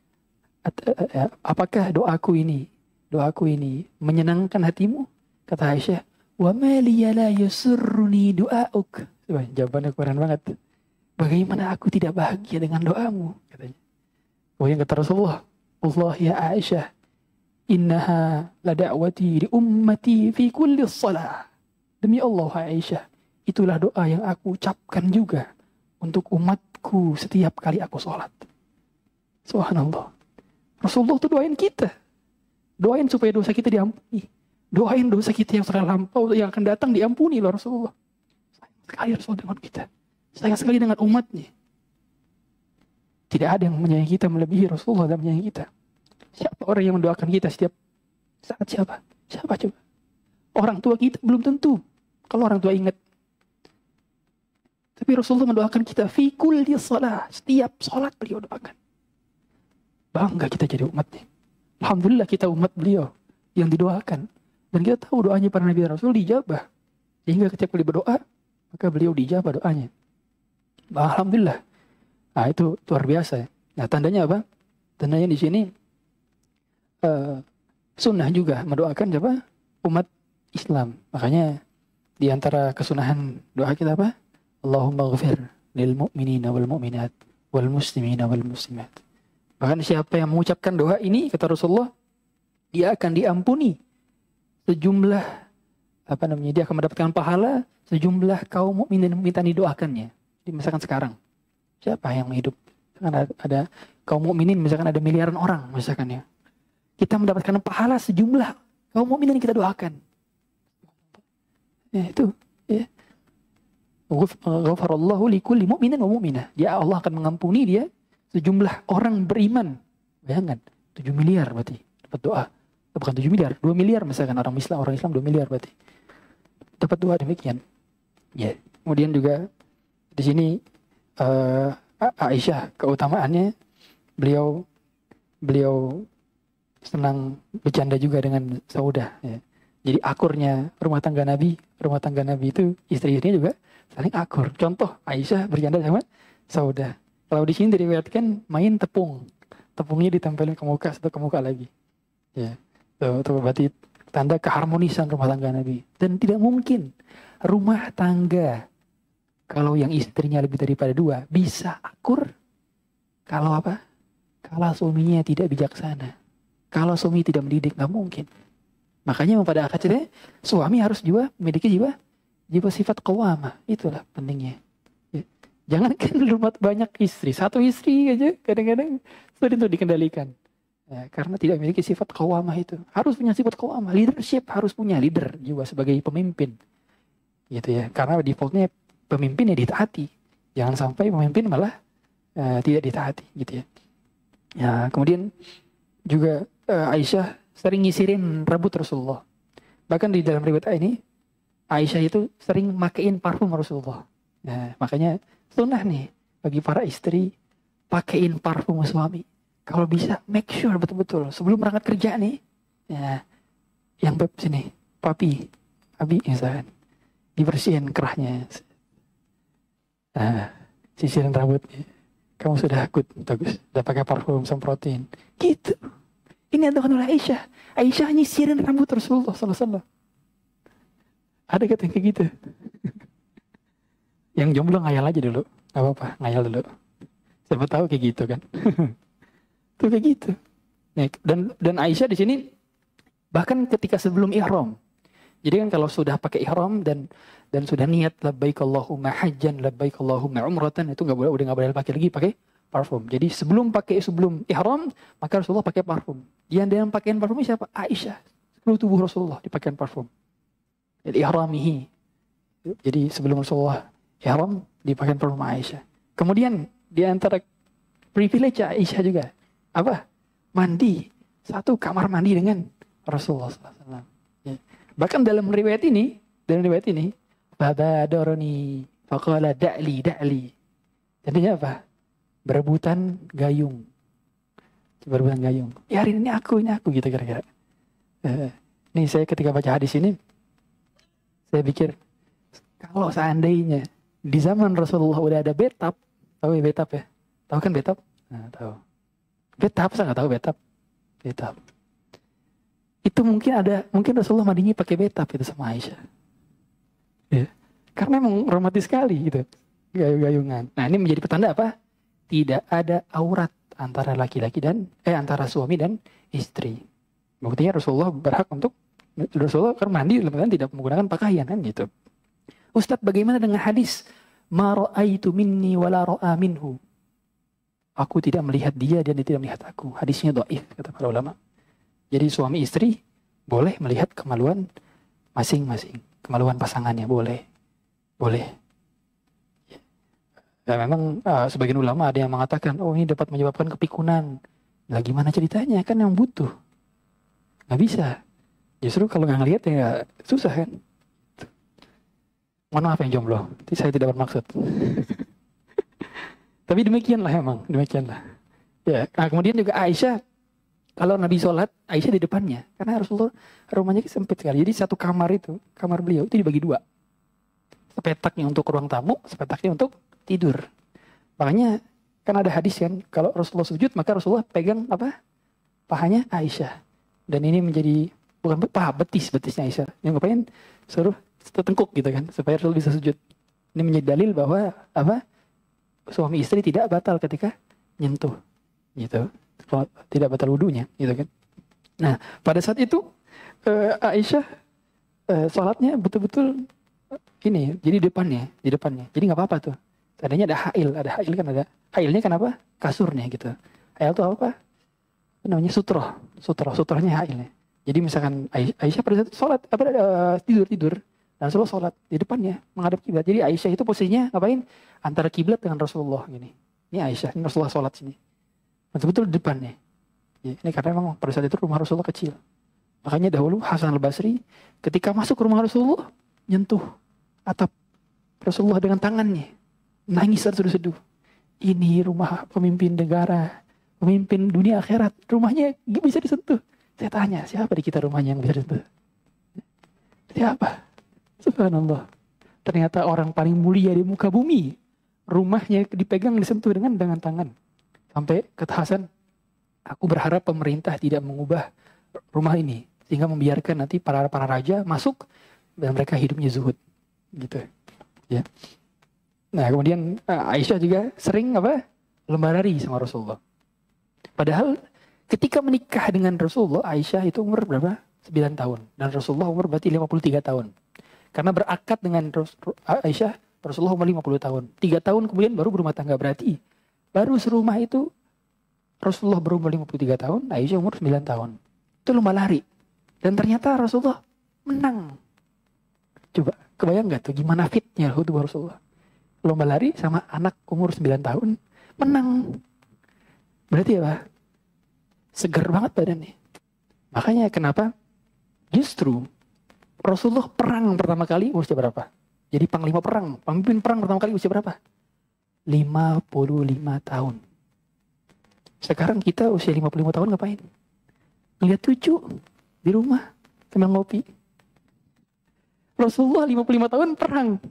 apakah doaku ini menyenangkan hatimu? Kata Aisyah, wa ma liya la yasurruni du'auk. Jawabannya keren banget. Bagaimana aku tidak bahagia dengan doamu, katanya. Kemudian kata Rasulullah, Allah ya Aisyah, innaha la da'wati li ummati fi kulli shalah. Demi Allah Aisyah, itulah doa yang aku ucapkan juga untuk umatku setiap kali aku sholat. Subhanallah. Rasulullah itu doain kita. Doain supaya dosa kita diampuni. Doain dosa kita yang sudah lampau, yang akan datang diampuni loh Rasulullah. Sayang sekali Rasul dengan kita. Sayang sekali dengan umatnya. Tidak ada yang menyayangi kita melebihi Rasulullah dalam menyayangi kita. Siapa orang yang mendoakan kita setiap saat? Siapa coba? Orang tua kita belum tentu. Kalau orang tua ingat. Tapi Rasulullah mendoakan kita fi kulli shalah. Setiap salat beliau doakan. Bangga kita jadi umatnya. Alhamdulillah kita umat beliau yang didoakan. Dan kita tahu doanya para Nabi dan Rasul dijabah. Sehingga ketika beliau berdoa, maka beliau dijabah doanya. Alhamdulillah. Nah itu luar biasa. Nah tandanya apa? Tandanya di sini sunnah juga mendoakan siapa? Umat Islam. Makanya di antara kesunahan doa kita apa? Allahumma ghafir lil mu'minina wal mu'minat wal muslimina wal muslimat. Bahkan siapa yang mengucapkan doa ini, kata Rasulullah, dia akan diampuni sejumlah dia akan mendapatkan pahala sejumlah kaum mukmin dan mukminat didoakannya. Jadi misalkan sekarang siapa yang hidup? Misalkan ada kaum mukminin, misalkan ada miliaran orang misalkan ya. Kita mendapatkan pahala sejumlah kaum mukminin yang kita doakan. Ya itu ya. Ghafarallahu likulli mu'minin wa mu'minah. Dia Allah akan mengampuni dia sejumlah orang beriman. Bayangkan 7 miliar berarti dapat doa. Bukan 7 miliar, 2 miliar misalkan orang Islam 2 miliar berarti. Dapat doa demikian. Ya. Kemudian juga di sini Aisyah keutamaannya beliau senang bercanda juga dengan Saudah ya. Jadi akurnya rumah tangga Nabi itu istri-istrinya juga saling akur. Contoh Aisyah bercanda sama Saudah. Kalau di sini diriwayatkan main tepung. Tepungnya ditempelin ke muka satu ke muka lagi. Ya. Itu berarti tanda keharmonisan rumah tangga Nabi. Dan tidak mungkin rumah tangga kalau yang istrinya lebih daripada 2 bisa akur kalau apa? Kalau suaminya tidak bijaksana. Kalau suami tidak mendidik, nggak mungkin. Makanya pada akhirnya suami harus juga memiliki jiwa sifat qawamah. Itulah pentingnya. Ya. Jangan kan rumah banyak istri, 1 istri aja kadang-kadang sulit untuk dikendalikan. Ya, karena tidak memiliki sifat qawamah itu. Harus punya sifat qawamah. Leadership harus punya leader juga sebagai pemimpin. Gitu ya. Karena defaultnya pemimpin ya ditaati. Jangan sampai pemimpin malah tidak ditaati gitu ya. Ya, kemudian juga Aisyah sering nyisirin rambut Rasulullah. Bahkan di dalam riwayat ini Aisyah itu sering makein parfum Rasulullah. Nah, makanya sunnah nih bagi para istri pakein parfum suami. Kalau bisa make sure betul-betul sebelum berangkat kerja nih. Ya, yang beb sini, abi misalkan dibersihin kerahnya. Nah, sisirin rambutnya. Kamu sudah good, bagus. Udah pakai parfum, semprotin. Gitu. Ini adalah oleh Aisyah. Aisyah nyisirin rambut Rasulullah SAW. Ada kata yang kayak gitu. Yang jomblo ngayal aja dulu. Gak apa-apa, ngayal dulu. Siapa tahu kayak gitu kan. Tuh kayak gitu. Nih, dan Aisyah di sini bahkan ketika sebelum ihram. Jadi kan kalau sudah pakai ihram dan sudah niat labbaik Allahumma hajjan, labbaik Allahumma umratan, itu udah nggak boleh pakai parfum. Jadi sebelum ihram maka Rasulullah pakai parfum. Yang pakaian parfumnya siapa? Aisyah. Seluruh tubuh Rasulullah dipakai parfum. Jadi ihramihi. Jadi sebelum Rasulullah ihram dipakai parfum Aisyah. Kemudian di antara privilege Aisyah juga apa? Mandi. Satu kamar mandi dengan Rasulullah SAW. Ya. Bahkan dalam riwayat ini, Babadaroni faqala da'li. Jadinya apa? Berebutan gayung. Ya hari ini aku gitu kira-kira. Nih saya ketika baca hadis ini, saya pikir kalau seandainya di zaman Rasulullah udah ada bathtub, tahu ya bathtub ya? Tahu kan bathtub? Nah, tahu. Bathtub, saya nggak tahu bathtub. Itu mungkin Rasulullah mandinya pakai bathtub itu sama Aisyah. Ya. Karena emang romantis sekali gitu. Gayung-gayungan. Nah, ini menjadi petanda apa? Tidak ada aurat antara laki-laki dan antara suami dan istri. Buktinya Rasulullah berhak untuk Rasulullah kan mandi dalam tidak menggunakan pakaian kan gitu. Ustadz, bagaimana dengan hadis ma ra'aitu minni wala ra'a minhu? Aku tidak melihat dia dan dia tidak melihat aku. Hadisnya dhaif kata para ulama. Jadi suami istri boleh melihat kemaluan masing-masing. Kemaluan pasangannya boleh. Ya memang sebagian ulama ada yang mengatakan, oh ini dapat menyebabkan kepikunan. Lah gimana ceritanya? Kan yang butuh. Gak bisa. Justru kalau gak ngelihat ya susah kan. Mohon maaf yang jomblo. Saya tidak bermaksud. Tapi demikianlah emang. Ya, nah kemudian juga Aisyah, kalau Nabi sholat, Aisyah di depannya. Karena Rasulullah rumahnya sempit sekali. Jadi satu kamar itu, kamar beliau itu dibagi dua. Sepetaknya untuk ruang tamu, sepetaknya untuk tidur. Makanya kan ada hadis kan, kalau Rasulullah sujud, maka Rasulullah pegang apa? Pahanya Aisyah. Dan ini menjadi, bukan paha, betisnya Aisyah. Yang ngapain? Suruh tertengkuk gitu kan, supaya Rasul bisa sujud. Ini menjadi dalil bahwa apa? Suami istri tidak batal ketika nyentuh. Gitu. Tidak batal wudunya, gitu kan. Nah, pada saat itu Aisyah sholatnya betul-betul ini, jadi di depannya. Jadi nggak apa-apa tuh. Tadinya ada hail kan ada. Hailnya kenapa? Kasurnya gitu. Hail itu apa? Namanya sutrohnya hailnya. Jadi misalkan Aisyah pada saat sholat tidur dan Rasulullah sholat di depannya menghadap kiblat. Jadi Aisyah itu posisinya ngapain? Antara kiblat dengan Rasulullah gini. Ini Aisyah, ini Rasulullah sholat sini. Betul-betul di depannya. Ya, ini karena memang pada saat itu rumah Rasulullah kecil. Makanya dahulu Hasan al-Basri ketika masuk ke rumah Rasulullah nyentuh atap Rasulullah dengan tangannya. Nangis terseduh-seduh. Ini rumah pemimpin negara, pemimpin dunia akhirat. Rumahnya gak bisa disentuh. Saya tanya, siapa di kita rumahnya yang bisa disentuh? Siapa? Subhanallah. Ternyata orang paling mulia di muka bumi. Rumahnya dipegang, disentuh dengan tangan. Sampai kata Hasan, aku berharap pemerintah tidak mengubah rumah ini. Sehingga membiarkan nanti para raja masuk dan mereka hidupnya zuhud. Gitu. Ya. Nah kemudian Aisyah juga sering lomba lari sama Rasulullah. Padahal ketika menikah dengan Rasulullah, Aisyah itu umur berapa? 9 tahun. Dan Rasulullah umur berarti 53 tahun. Karena berakad dengan Aisyah, Rasulullah umur 50 tahun. 3 tahun kemudian baru berumah tangga. Berarti baru serumah itu Rasulullah berumur 53 tahun, Aisyah umur 9 tahun. Itu lomba lari. Dan ternyata Rasulullah menang. Coba, kebayang gak tuh gimana fitnya tubuh Rasulullah? Lomba lari sama anak umur 9 tahun, menang. Berarti apa? Segar banget badannya. Makanya kenapa? Justru Rasulullah perang pertama kali usia berapa? Jadi panglima perang, pemimpin perang pertama kali usia berapa? 55 tahun. Sekarang kita usia 55 tahun ngapain? Ngeliat cucu di rumah sambil ngopi. Rasulullah 55 tahun perang.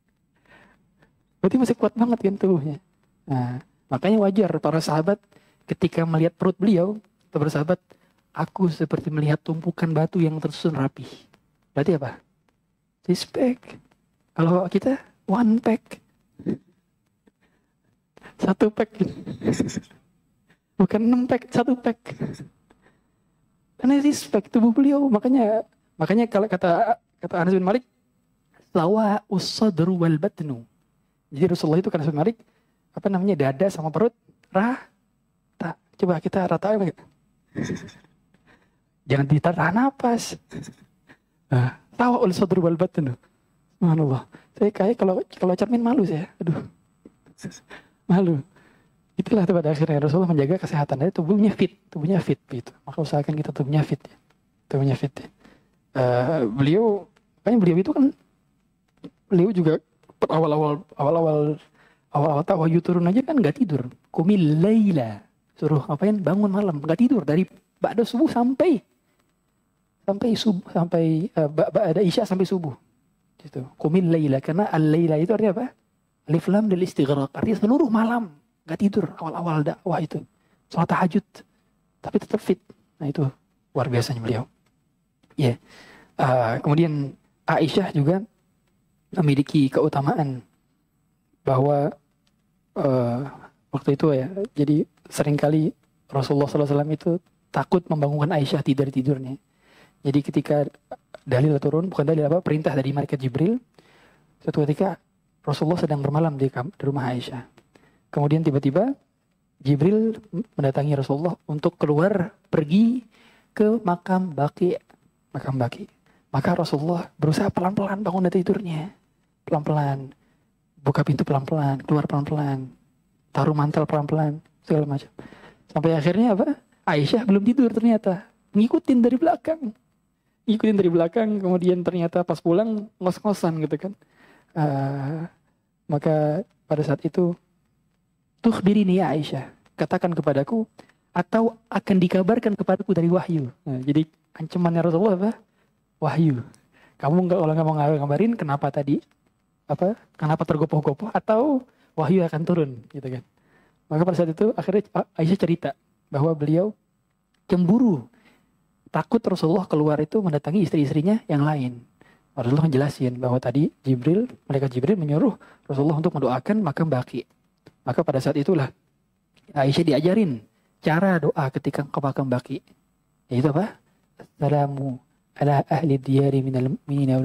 Berarti masih kuat banget kan tubuhnya. Nah, makanya wajar para sahabat ketika melihat perut beliau, para sahabat, aku seperti melihat tumpukan batu yang tersusun rapi. Berarti apa? 6 pack. Kalau kita 1 pack. 1 pack. Bukan 6 pack, 1 pack. Karena 6 pack tubuh beliau. Makanya kalau kata Anas bin Malik, lawa usadru wal batnu. Jadi Rasulullah itu kan Anas bin Malik, dada sama perut rata. Coba kita rata apa? Jangan ditahan napas. Lawa usadru wal batnu. Subhanallah. Saya kayak kalau cermin malu saya. Aduh. Malu. Itulah pada akhirnya Rasulullah menjaga kesehatan. Jadi tubuhnya fit gitu. Maka usahakan kita tubuhnya fit ya. Tubuhnya fit ya. Beliau itu kan beliau juga awal-awal tawayu turun aja kan nggak tidur. Qumil laila, suruh ngapain? Bangun malam, nggak tidur dari ba'da subuh sampai ba'da isya sampai subuh. Gitu. Qumil laila, karena al-laila itu artinya apa? Alif lam del istighraq, artinya seluruh malam nggak tidur awal-awal dakwah itu. Salat tahajud tapi tetap fit. Nah itu luar biasanya beliau. Ya. Kemudian Aisyah juga memiliki keutamaan bahwa waktu itu ya, jadi seringkali Rasulullah SAW itu takut membangunkan Aisyah dari tidurnya. Jadi ketika dalil turun, bukan dalil perintah dari malaikat Jibril, suatu ketika Rasulullah sedang bermalam di rumah Aisyah. Kemudian tiba-tiba Jibril mendatangi Rasulullah untuk keluar pergi ke makam Baqi. Maka Rasulullah berusaha pelan-pelan bangun dari tidurnya. Pelan-pelan. Buka pintu pelan-pelan. Keluar pelan-pelan. Taruh mantel pelan-pelan. Segala macam. Sampai akhirnya Aisyah belum tidur ternyata. Ngikutin dari belakang. Kemudian ternyata pas pulang ngos-ngosan gitu kan. Maka pada saat itu, tukhbirini ya Aisyah. katakan kepadaku, atau akan dikabarkan kepadaku dari wahyu. Nah, jadi ancamannya Rasulullah apa? Wahyu. Kamu kalau nggak mau ngabarin, kenapa tadi? Kenapa tergopoh-gopoh? Atau wahyu akan turun, gitu kan? Maka pada saat itu akhirnya Aisyah cerita bahwa beliau cemburu, takut Rasulullah keluar itu mendatangi istri-istrinya yang lain. Rasulullah menjelasin bahwa tadi malaikat Jibril menyuruh Rasulullah untuk mendoakan makam Baqi. Maka pada saat itulah Aisyah diajarin cara doa ketika ke makam Baqi. Yaitu apa? Assalamu ala ahli diyari minal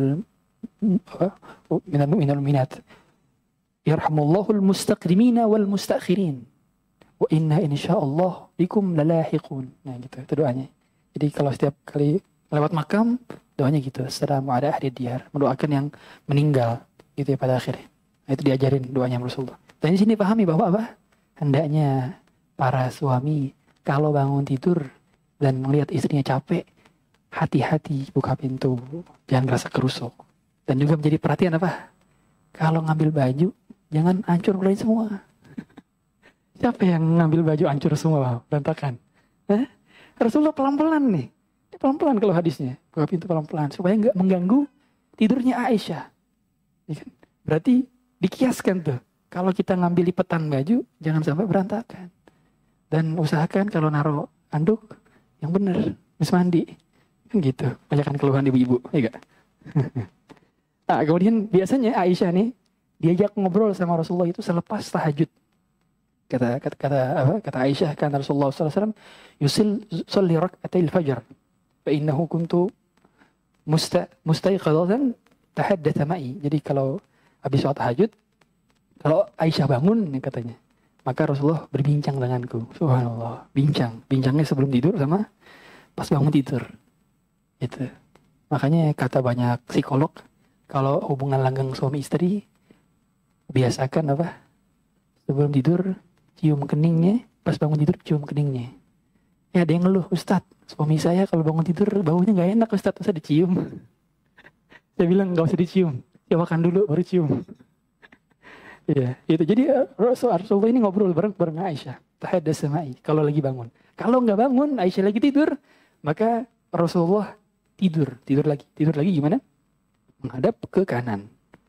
mu'minat. Yarhamullahul mustaqdimina wal mustakhirin. Wa inna insyaallah bikum lalahiqun. Nah gitu, itu doanya. Jadi kalau setiap kali lewat makam, doanya gitu. Assalamu ala ahli diyar. Mendoakan yang meninggal. Gitu ya pada akhirnya. Nah, itu diajarin doanya Rasulullah. Dan di sini pahami bahwa apa? Hendaknya para suami kalau bangun tidur dan melihat istrinya capek, hati-hati buka pintu. Jangan merasa kerusuk. Dan juga menjadi perhatian apa? Kalau ngambil baju, jangan hancur keluarin semua. Siapa yang ngambil baju hancur semua, berantakan? Rasulullah pelan-pelan nih. Pelan-pelan kalau hadisnya. Buka pintu pelan-pelan. Supaya nggak mengganggu tidurnya Aisyah. Ya kan? Berarti dikiaskan tuh. Kalau kita ngambil lipetan baju, jangan sampai berantakan. Dan usahakan kalau naruh anduk, yang benar. Habis mandi. Kan gitu. Banyakan keluhan ibu-ibu. Ya gak? Nah, kemudian biasanya Aisyah nih, diajak ngobrol sama Rasulullah itu selepas tahajud. Kata Aisyah, kan Rasulullah SAW yusalli rak'atil fajr. فإنه كنت مستيقظة تحدث معي. Jadi kalau habis sholat tahajud, kalau Aisyah bangun katanya, maka Rasulullah berbincang denganku. Subhanallah, bincangnya sebelum tidur sama pas bangun tidur. Itu. Makanya kata banyak psikolog, kalau hubungan langgeng suami istri, biasakan apa? Sebelum tidur cium keningnya, pas bangun tidur cium keningnya. Ya ada yang ngeluh, Ustadz, suami saya kalau bangun tidur baunya gak enak Ustadz, usah dicium. Saya bilang gak usah dicium, ya makan dulu baru cium. Iya, itu. Jadi Rasulullah ini ngobrol bareng Aisyah. Tahaddas sama'i, kalau lagi bangun. Kalau gak bangun, Aisyah lagi tidur, maka Rasulullah tidur lagi gimana? Menghadap ke kanan.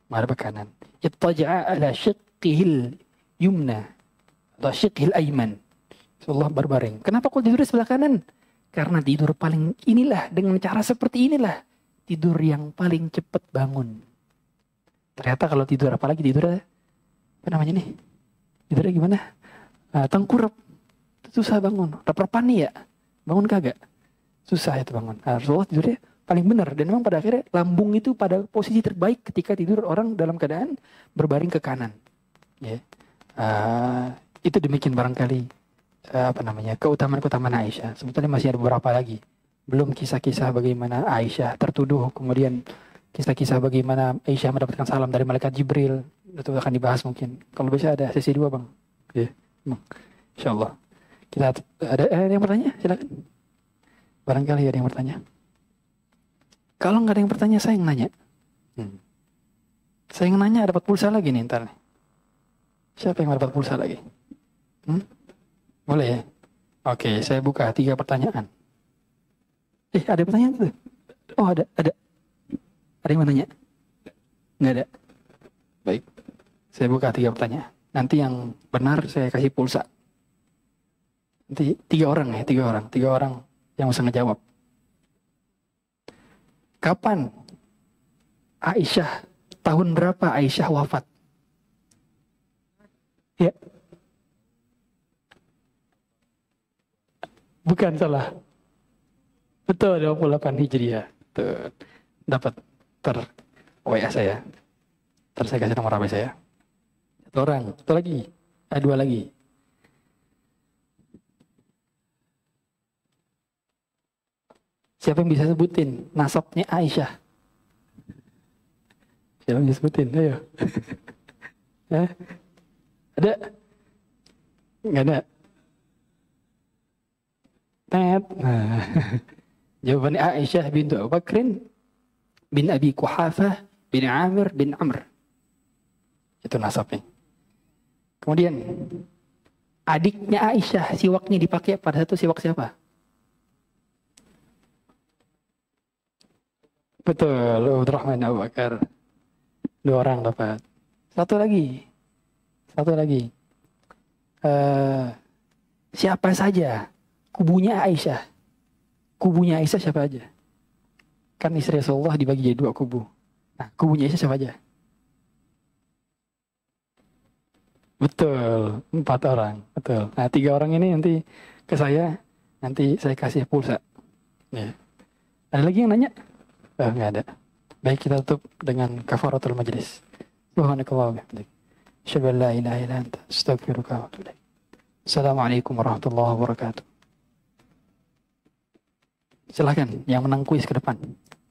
Ittaja'a ala syiqqihil yumna atau syiqqihil ayman. Rasulullah berbaring. Kenapa kok tidur di sebelah kanan? Karena tidur paling inilah, dengan cara seperti inilah, tidur yang paling cepat bangun. Ternyata kalau tidur, apalagi tidur, apa namanya nih? Tidurnya gimana? Tengkurap. Susah bangun. Rep-repan nih ya? Bangun kagak? Susah itu bangun. Rasulullah tidurnya paling benar. Dan memang pada akhirnya lambung itu pada posisi terbaik ketika tidur orang dalam keadaan berbaring ke kanan. Ya. Itu demikian barangkali keutamaan Aisyah. Sebetulnya masih ada beberapa lagi. Belum kisah-kisah bagaimana Aisyah tertuduh, kemudian kisah-kisah bagaimana Aisyah mendapatkan salam dari malaikat Jibril. Itu akan dibahas mungkin. Kalau bisa ada sesi 2, Bang. Ya, Bang. Insyaallah. Kita ada yang bertanya? Silakan. Barangkali ada yang bertanya. Kalau nggak ada yang bertanya, saya yang nanya. Saya yang nanya, dapat pulsa lagi nih ntar nih. Siapa yang dapat pulsa lagi? Boleh ya? Oke, saya buka 3 pertanyaan. Ada pertanyaan tuh? Oh, ada. Ada yang mau nanya? Nggak ada? Baik. Saya buka 3 pertanyaan. Nanti yang benar saya kasih pulsa. Nanti 3 orang ya, 3 orang yang bisa ngejawab. Kapan Aisyah, tahun berapa Aisyah wafat? Ya. Bukan salah. Betul, 28 Hijriah. Tuh. Dapat WA saya. Saya kasih nomor HP saya. 1 orang. 1 lagi. 2 lagi. Siapa yang bisa sebutin nasabnya Aisyah? Siapa yang bisa sebutin? Ayo. Ada? Nggak ada? Nah, jawabannya Aisyah bintu Abu Bakrin bin Abi Quhafah bin Amir bin Amr. Itu nasabnya. Kemudian Adiknya Aisyah, siwaknya dipakai pada satu siwak siapa? Betul, Abdurrahman Abu Bakar. 2 orang dapat. Satu lagi. Siapa saja kubunya Aisyah? Kubunya Aisyah siapa aja? Kan istri Rasulullah dibagi jadi 2 kubu. Nah, kubunya Aisyah siapa aja? Betul, 4 orang. Betul. Nah, 3 orang ini nanti ke saya, nanti saya kasih pulsa. Ya. Ada lagi yang nanya? Oh, nggak ada. Baik, kita tutup dengan kafaratul majlis. Subhanakallah wa bihamdik. Asyhadu an la ilaha illa anta, astaghfiruka wa atubu ilaik. Assalamualaikum warahmatullahi wabarakatuh. Silakan yang menang kuis ke depan.